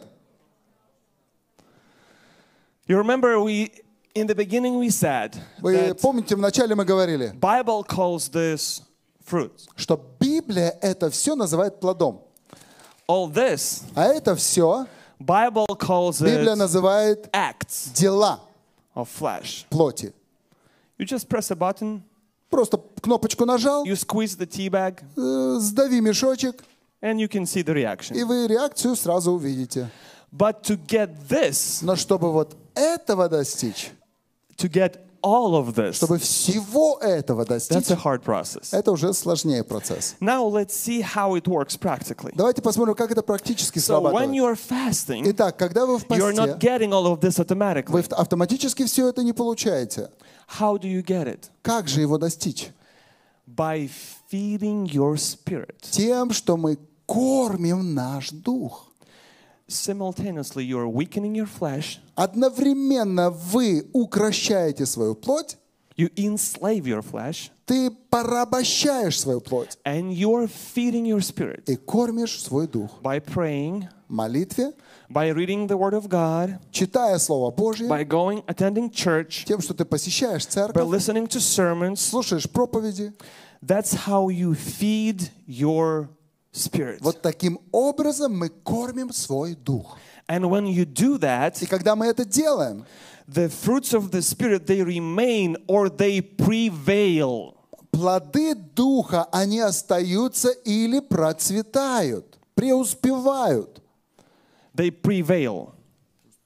You remember in the beginning we said Вы that помните, вначале мы говорили, Bible calls this fruit. что Библия это все называет плодом. All this, А это все Bible calls Библия it называет acts дела of flesh. плоти. You just press a button, Просто кнопочку нажал, you squeeze the tea bag, сдави мешочек, and you can see the reaction. и вы реакцию сразу увидите. But to get this, Но чтобы вот этого достичь, to get all of this, чтобы всего этого that's достичь, a hard process. это уже сложнее процесс. Now let's see how it works practically. Давайте посмотрим, как это практически So when срабатывает. you are fasting, Итак, когда вы в you're not посте, getting all of this automatically. вы автоматически все это не получаете. How do you get it? Как же его достичь? By feeding your spirit. Тем, что мы кормим наш дух. Simultaneously, you are weakening your flesh, Одновременно вы укращаете свою плоть, you enslave your flesh, ты порабощаешь свою плоть and you are feeding your spirit и кормишь свой дух. by praying, В молитве, by reading the Word of God, читая Слово Божье, by going, attending church, тем, что ты посещаешь by церковь, listening to sermons. слушаешь проповеди. That's how you feed your spirit. Вот таким образом мы кормим свой дух. And when you do that, И когда мы это делаем, the fruits of the Spirit, they remain or they prevail. плоды духа, они остаются или процветают, преуспевают. They prevail.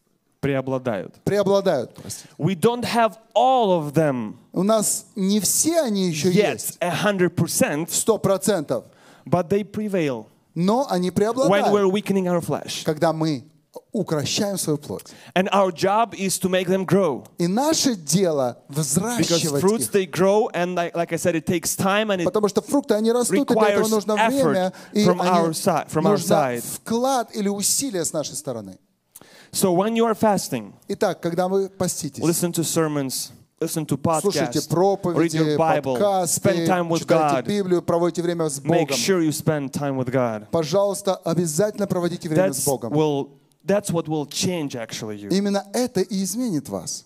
преобладают. Преобладают, простите. We don't have all of them У нас не все они еще yet, есть, 100%, 100%, but they prevail но они when преобладают, we're weakening our flesh. когда мы укращаем свою плоть. And our job is to make them grow. И наше дело Because взращивать fruits, их. they grow, and like I said, it takes time, and it Потому что фрукты, они растут, и для этого requires нужно effort время, и from our нужно side. вклад или усилие с нашей стороны. So when you are fasting, Итак, когда вы поститесь, listen to sermons, listen to слушайте podcasts, read проповеди, your Bible, подкасты, spend time with читайте God. Библию, проводите время с Make Богом. sure you spend time with God. Пожалуйста, обязательно проводите время с Богом. That's what will change actually you. Именно это и изменит вас.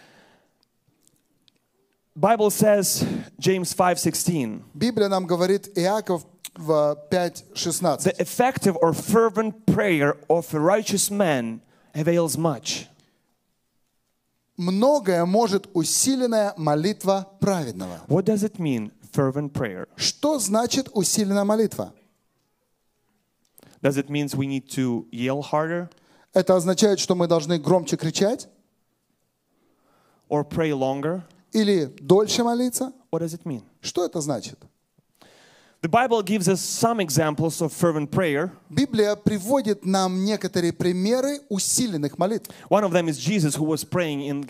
Bible says, James 5:16, Библия нам говорит, Иаков в 5:16. the effective or fervent prayer of a righteous man avails much. Многое может усиленная молитва праведного. What does it mean, fervent prayer? Что значит усиленная молитва? Does it mean we need to yell harder Это означает, что мы должны громче кричать or pray longer? или дольше молиться? What does it mean? Что это значит? The Bible gives us some examples of fervent prayer. Библия приводит нам некоторые примеры усиленных молитв. One of them is Jesus, who was praying in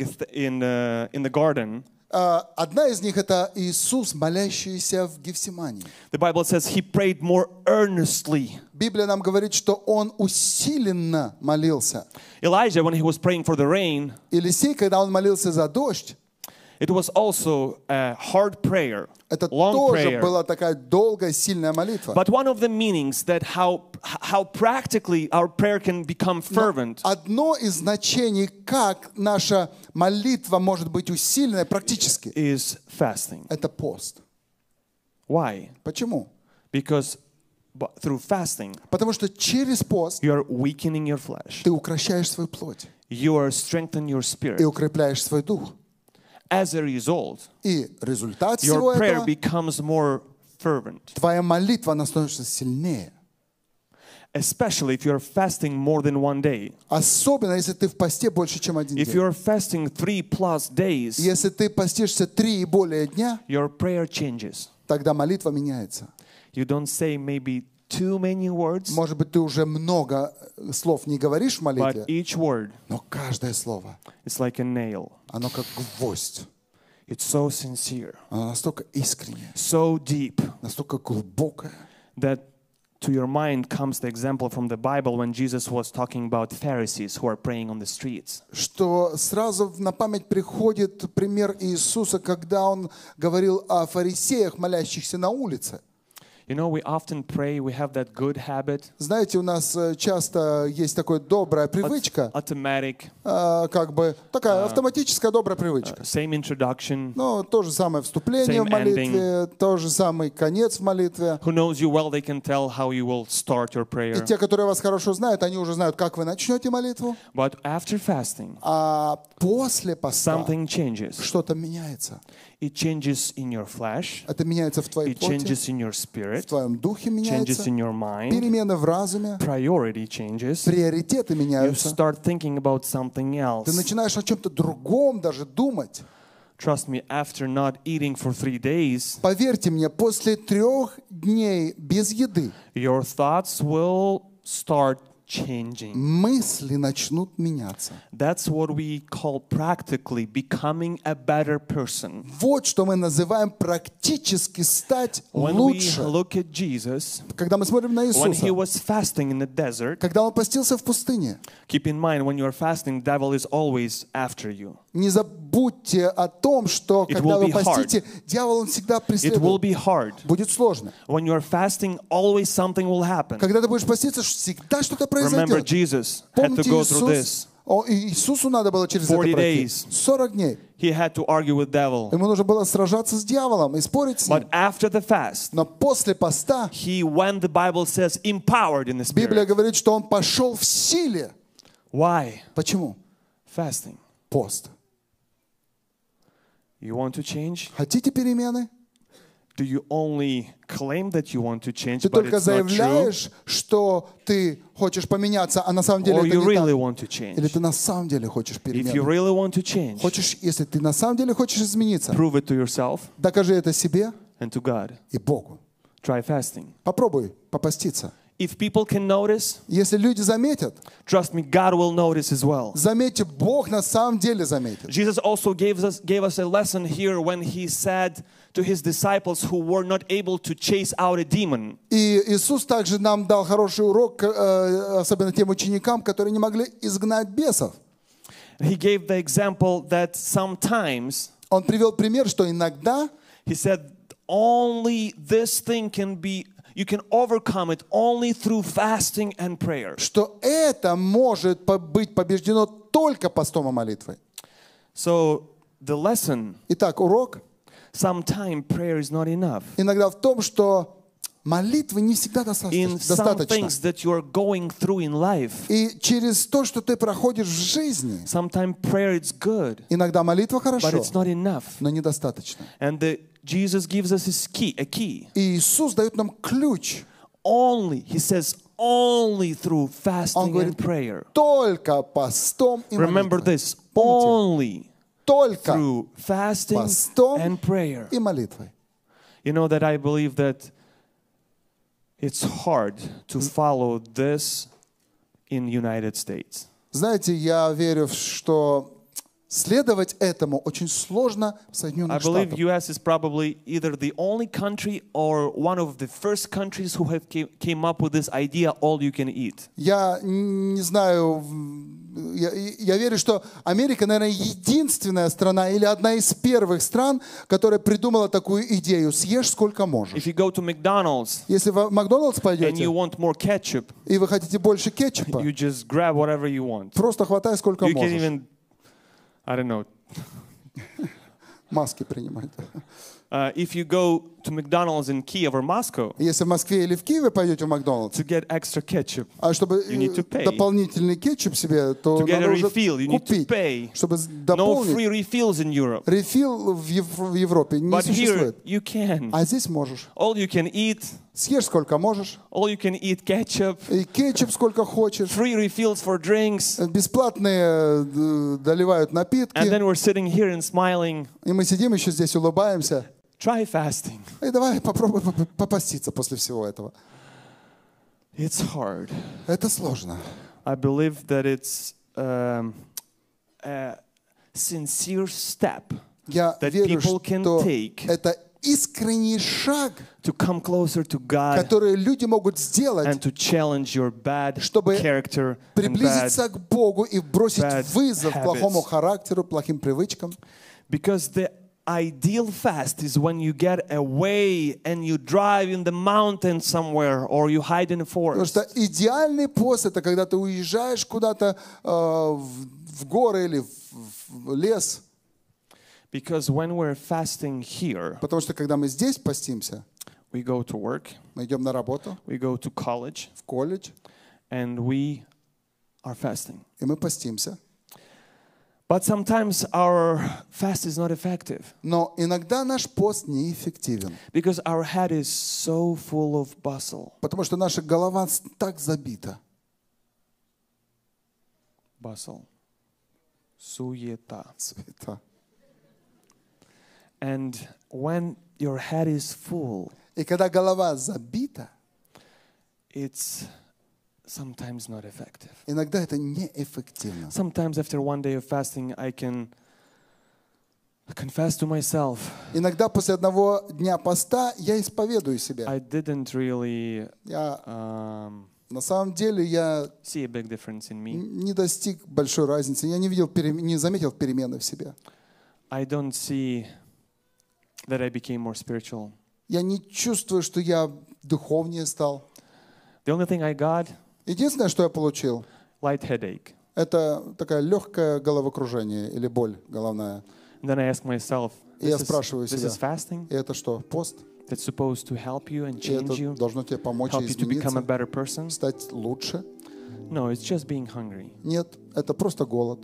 the garden. Одна из них — это Иисус, молящийся в Гефсимании. The Bible says he prayed more earnestly. Библия нам говорит, что он усиленно молился. Elijah, when he was praying for the rain, Елисей, когда он молился за дождь, it was also a hard prayer, это long тоже prayer. была такая долгая, сильная молитва. But one of the meanings that how practically our prayer can become fervent Одно из значений, как наша молитва может быть усиленной практически, is fasting. это пост. Why? Почему? Because through fasting, Потому что через пост you are weakening your flesh. ты укращаешь свою плоть You are strengthening your и spirit. укрепляешь свой дух. As a result, И результат всего your prayer этого, becomes more fervent. твоя молитва, она становится сильнее. Especially if you're fasting more than one day. Особенно, если ты в посте больше, чем один If день. you're fasting 3+ days, Если ты постишься 3 и более дня, your prayer changes. тогда молитва меняется. You don't say maybe too many words, Может быть, ты уже много слов не говоришь в молитве, but each word но каждое слово, is like a nail. оно как гвоздь. It's so sincere, Оно настолько искреннее, so deep, настолько глубокое, that to your mind comes the example from the Bible when Jesus was talking about Pharisees who are praying on the streets. что сразу на память приходит пример Иисуса, когда Он говорил о фарисеях, молящихся на улице. You know, we often pray, we have that good habit, Знаете, у нас часто есть такая добрая привычка, automatic, как бы такая автоматическая добрая привычка. same introduction. Ну, то же самое вступление в Same молитве, то же самый конец в молитве. Who knows you well, they can tell how you will start your И prayer. те, которые вас хорошо знают, они уже знают, как вы начнете молитву. But after fasting, А после поста something changes. что-то меняется. It changes in your flesh, Это меняется в твоей it плоти, changes in your в spirit, твоем духе changes меняется, in your mind, перемены в разуме, priority changes. приоритеты You меняются. start thinking about something Ты else. начинаешь о чем-то другом даже думать. Trust me, after not eating for 3 days, Поверьте мне, после 3 дней без еды your thoughts will start changing. мысли начнут меняться. That's what we call practically becoming a better person. Вот что мы называем практически стать When we лучше. look at Jesus, Когда мы смотрим на when he Иисуса, was fasting in the desert, когда Он постился в пустыне, keep in mind when you are fasting, devil is always after you. не забудьте о том, что It когда will вы be hard. постите, дьявол он всегда It will преследует. be hard. Будет сложно. When you are fasting, always something will happen. Когда ты будешь поститься, всегда что-то Remember, произойдет. Jesus had to Помните, go through this. Иисусу надо было через это 40 пройти. days. 40 дней. He had to argue with devil. Ему нужно было сражаться с дьяволом и спорить с ним. But after the fast, Но после поста he went, the Bible says, empowered in the Библия spirit. говорит, что он пошел в силе. Why? Почему? Fasting. Пост. You want to change? Хотите перемены? do you only claim that you want to change, Ты but только it's not true? заявляешь, что ты Ты только заявляешь, что ты хочешь поменяться, а на самом деле Or это you не really так. want to Или change? ты на самом деле хочешь If you перемены. really want to change, Если ты на самом деле хочешь измениться, prove it to yourself докажи это себе and to God. и Богу. Try fasting. Попробуй попаститься. If people can notice, Если люди заметят, trust me, God will notice as well. заметьте, Бог на самом деле заметит. Jesus also gave us a lesson here when he said to his disciples who were not able to chase out a demon. И Иисус также нам дал хороший урок, особенно тем ученикам, которые не могли изгнать бесов. He gave the example that sometimes, Он привел пример, что иногда he said, only this thing can be, you can overcome it only through fasting and prayer. что это может быть побеждено только постом и молитвой. So the lesson, Итак, урок sometimes prayer is not enough. иногда в том, что молитвы не всегда In some достаточно. things that you are going through in life, И через то, что ты проходишь в жизни, sometimes prayer is good, иногда молитва but хорошо, it's not enough. но недостаточно. And Jesus gives us a key. И Иисус дает нам ключ. Only, he says, only through Он fasting говорит, and prayer. только постом и Remember молитвой. this, only Только through fasting постом and prayer. и молитвой. You know that I believe that it's hard to follow this in United States. Знаете, я верю, что следовать этому очень сложно в I Соединенных believe Штатах. U.S. is probably either the only country or one of the first countries who have came up with this idea, all you can eat. Я не знаю, я верю, что Америка, наверное, единственная страна или одна из первых стран, которая придумала такую идею: съешь сколько можешь. If you go to McDonald's Если в Макдональдс and пойдете, you want more ketchup, и вы хотите больше кетчупа, you just grab whatever you want. просто хватай сколько You can можешь. even, I don't know, Маски принимать. if you go to McDonald's in Kiev or Moscow Если в Москве или в Киеве пойдете в Макдональдс, to get extra ketchup, а чтобы You need to pay. дополнительный кетчуп себе, то to get надо a уже refill, you need to купить, pay. чтобы No дополнить. free refills in Europe. Рефил в Европе не But here существует. you can. А здесь можешь. All you can eat, Съешь сколько можешь. all you can eat ketchup, И кетчуп сколько хочешь. free refills for drinks. Бесплатные доливают And напитки. then we're sitting here and smiling. И мы сидим еще здесь, улыбаемся. Try fasting. И давай попробуй попаститься после всего этого. It's hard. Это сложно. I believe that it's a sincere step Я that верю, people can что take это искренний шаг, to come closer to God который люди могут сделать, and to challenge your bad чтобы character and bad. приблизиться к Богу и бросить bad вызов habits. плохому характеру, плохим привычкам. Because the ideal fast is when you get away and you drive in the mountain somewhere or you hide in a Потому forest. что идеальный пост — это когда ты уезжаешь куда-то в горы или в лес. Because when we're fasting here, Потому что когда мы здесь постимся, we go to work, мы идем на работу, we go to college, в колледж, and we are fasting. и мы постимся. But sometimes our fast is not effective Но иногда наш пост неэффективен, because our head is so full of bustle. потому что наша голова так забита. Bustle. Суета. Суета. And when your head is full, И когда голова забита, it's sometimes not effective. иногда это неэффективно. Sometimes after one day of fasting, I can confess to myself, Иногда после одного дня поста я исповедую себя. I didn't really Я, на самом деле, я see a big difference in me. не достиг большой разницы. Я не заметил перемены в себе. I don't see that I became more spiritual. Я не чувствую, что я духовнее стал. The only thing I got, Единственное, что я получил, light headache. это такая легкое головокружение или боль головная. And then I ask myself, И я this спрашиваю is себя, fasting и это что, пост? that's supposed to help you and И это change you, должно тебе помочь help you to become a измениться, better person? стать лучше? No, it's just being hungry. Нет, это просто голод.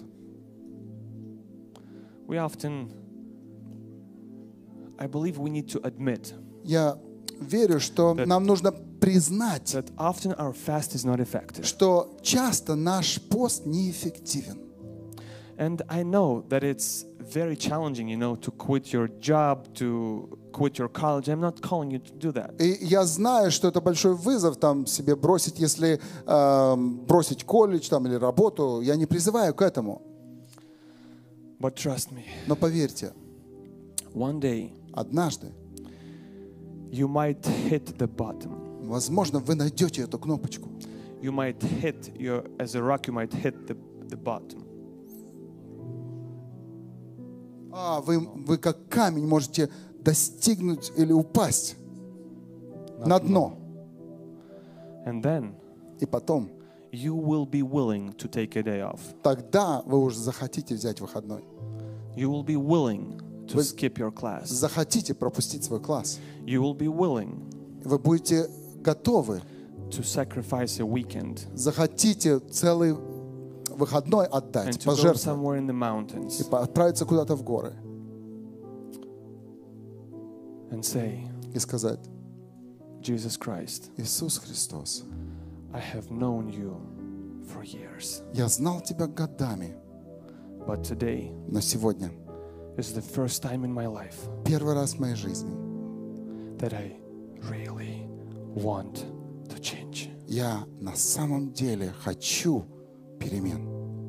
We often, I believe we need to admit Я верю, что нам нужно признать, that often our fast is not effective. что часто наш пост неэффективен. And I know that it's very challenging, to quit your job, to quit your college. I'm not calling you to do that. И я знаю, что это большой вызов там себе бросить, если бросить колледж там, или работу. Я не призываю к этому. But trust me, Но поверьте, one day однажды, you might hit the bottom. возможно, вы найдете эту кнопочку. You might hit as a rock, you might hit the bottom. Вы как камень можете достигнуть или упасть на дно. And then И потом, you will be willing to take a day off. тогда вы уже захотите взять выходной. You will be willing to skip your class. Захотите пропустить свой класс. You will be willing Вы будете готовы, to sacrifice a weekend захотите целый выходной and отдать, to go пожертвовать somewhere in the и mountains отправиться куда-то в горы and say, и сказать: Jesus Christ, Иисус Христос, I have known you for years, я знал Тебя годами, but today но сегодня is the first time in my life первый раз в моей жизни that I really want to change. я на самом деле хочу перемен.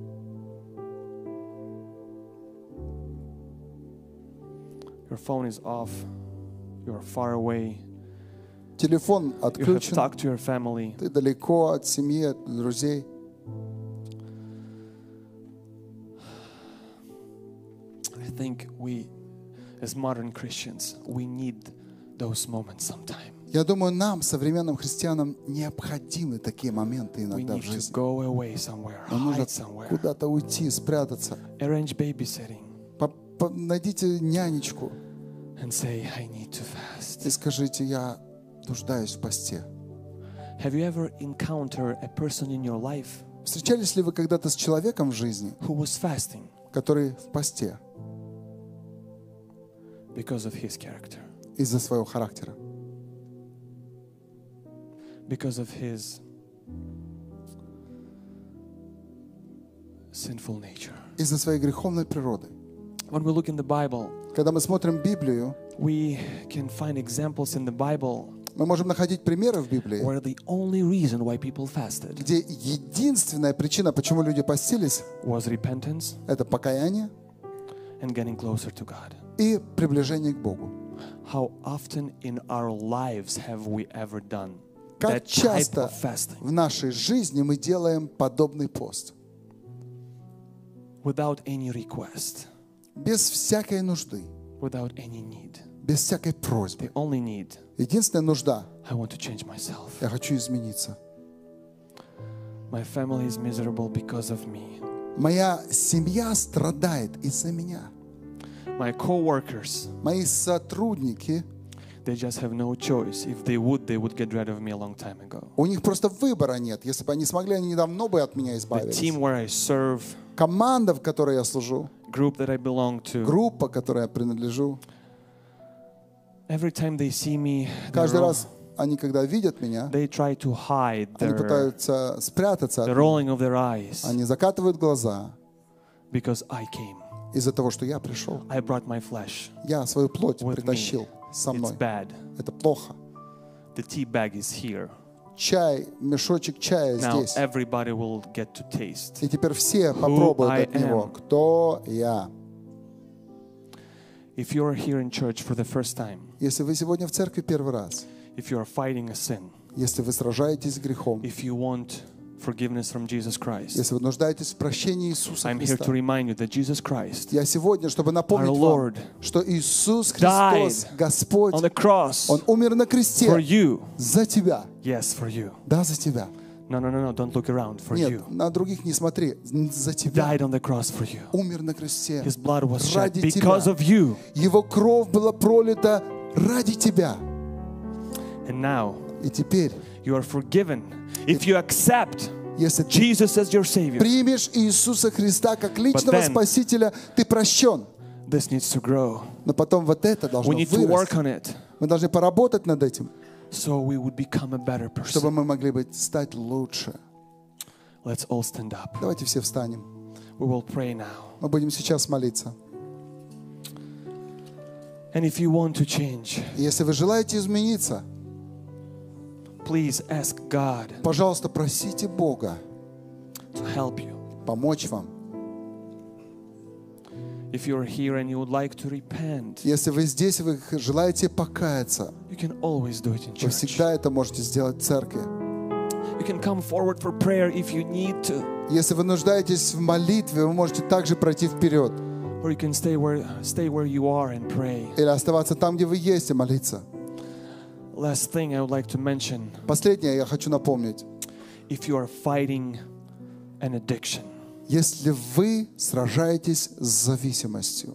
Your phone is off, you are far away, Телефон you have отключен, talked to your family, ты далеко от семьи, от друзей. I think we, as modern Christians, we need those moments sometime. Я думаю, нам, современным христианам, необходимы такие моменты We иногда в need to жизни. go away somewhere, Нам нужно hide somewhere, куда-то уйти, спрятаться. arrange babysitting, Найдите нянечку and say, I need to fast. и скажите: я нуждаюсь в посте. Have you ever encountered a person in your life Встречались ли вы когда-то с человеком в жизни, who was fasting который в посте because of his character, из-за своего характера, because of his sinful nature? из-за своей греховной природы? When we look in the Bible, Когда мы смотрим Библию, we can find examples in the Bible мы можем находить примеры в Библии, where the only reason why people fasted где единственная причина, почему люди постились, was repentance это покаяние and getting closer to God. и приближение к Богу. How often in our lives have we ever done Как that type часто of fasting в нашей жизни мы делаем подобный пост, without any request, без всякой нужды, without any need? без всякой просьбы. The only need, Единственная нужда: I want to change myself. я хочу измениться. My family is miserable because of me. Моя семья страдает из-за меня. My co-workers, Мои сотрудники, they just have no choice. If they would get rid of me a long time ago. у них просто выбора нет. Если бы они смогли, они давно бы от меня The избавились. team where I serve, Команда, в которой я служу, group that I belong to, группа, которой я принадлежу, every time they see me, каждый раз они, когда видят меня, they try to hide они the пытаются спрятаться от меня. rolling of their eyes Они закатывают глаза because I came. из-за того, что я пришел. I brought my flesh Я свою плоть with me. притащил со It's мной. bad. Это плохо. The tea bag is here. Чай, мешочек чая Now здесь. everybody will get to taste. И теперь все попробуют I от него, am. кто я. If you are here in church for the first time, Если вы сегодня в церкви первый раз, if you are fighting a sin, если вы сражаетесь с грехом, if you want forgiveness from Jesus Christ, если вы нуждаетесь в прощении Иисуса I'm here to Христа, remind you that Jesus Christ я сегодня, чтобы напомнить Our вам, Lord что Иисус died Христос, Господь, on the cross Он умер на for кресте you. за тебя. Yes, for you. Да, за тебя. No, don't look around. For Нет, you. на других не смотри, за тебя. Died on the cross for you. Умер на кресте His blood was shed ради because тебя. of you. Его кровь была пролита ради тебя. And now И теперь, you are forgiven. If you accept если ты Jesus as your Savior, примешь Иисуса Христа как личного then- Спасителя, ты прощен. this needs to grow. Но потом вот это должно We need to work вырасти. on it. Мы должны поработать над этим, so we would become a better чтобы person. мы могли стать лучше. Let's all stand up. Давайте все встанем. We will pray now. Мы будем сейчас молиться. And if you want to change, Если вы желаете измениться, please ask God пожалуйста, просите Бога to help you. помочь вам. If you're here and you would like to repent, Если вы здесь, вы желаете покаяться, you can always do it in вы church. всегда это можете сделать в церкви. You can come forward for prayer if you need to, Если вы нуждаетесь в молитве, вы можете также пройти вперед or you can stay where you are and pray. или оставаться там, где вы есть, и молиться. Last thing I would like to mention, Последнее я хочу напомнить. if you are fighting an addiction, Если вы сражаетесь с зависимостью,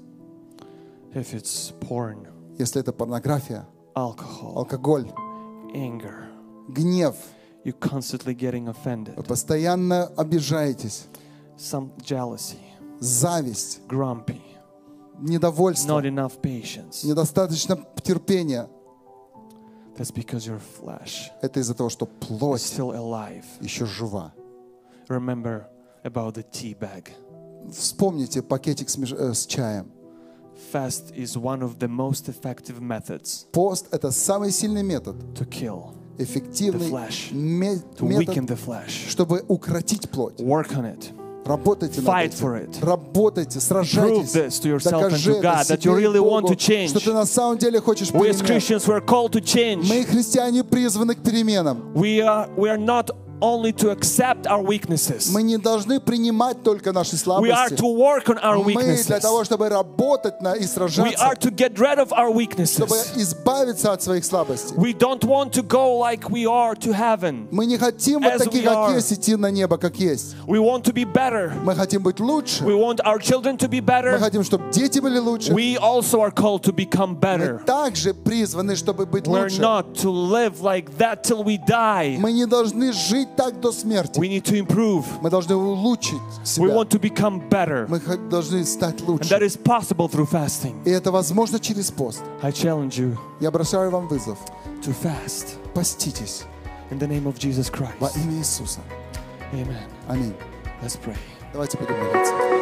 if it's porn, если это порнография, alcohol, алкоголь, anger, гнев, you're constantly getting вы offended, постоянно обижаетесь, some jealousy, зависть, grumpy, недовольство, not enough patience, недостаточно терпения, that's because your flesh это из-за того, что is плоть still alive. еще жива. Remember about the tea bag. Вспомните пакетик с чаем. Fast is one of the most effective methods Пост — это самый сильный метод, to kill, эффективный The flesh. метод, to weaken the flesh. чтобы укротить плоть. Work on it. Работайте над Fight for этим. it. Работайте, Prove сражайтесь. this to yourself and Докажи to God это that you себе и really want Богу, to change. что ты на самом деле хочешь We as перемен. Christians were called to change. Мы, христиане, призваны к переменам. We are not only to accept our weaknesses. Мы не должны принимать только наши We are слабости. to work on our Мы для weaknesses. того, чтобы работать и We сражаться, are to get rid of our чтобы weaknesses. избавиться от своих слабостей. We don't want to go like we are to heaven. Мы не хотим вот As такие, we are. как есть, идти на небо, как есть. We want to be better. Мы хотим быть лучше. We want our children to be Мы better. хотим, чтобы дети были лучше. We also are called to become Мы better. также призваны, чтобы быть We're лучше. not to live like that till we die. Мы не должны жить так до смерти. We need to improve. Мы должны улучшить We себя. want to become better. Мы должны стать And лучше. that is possible through fasting. И это возможно через пост. I challenge you Я бросаю вам вызов. to fast Поститесь in the name of Jesus во Christ. имя Иисуса. Amen. Аминь. Let's pray. Давайте будем молиться.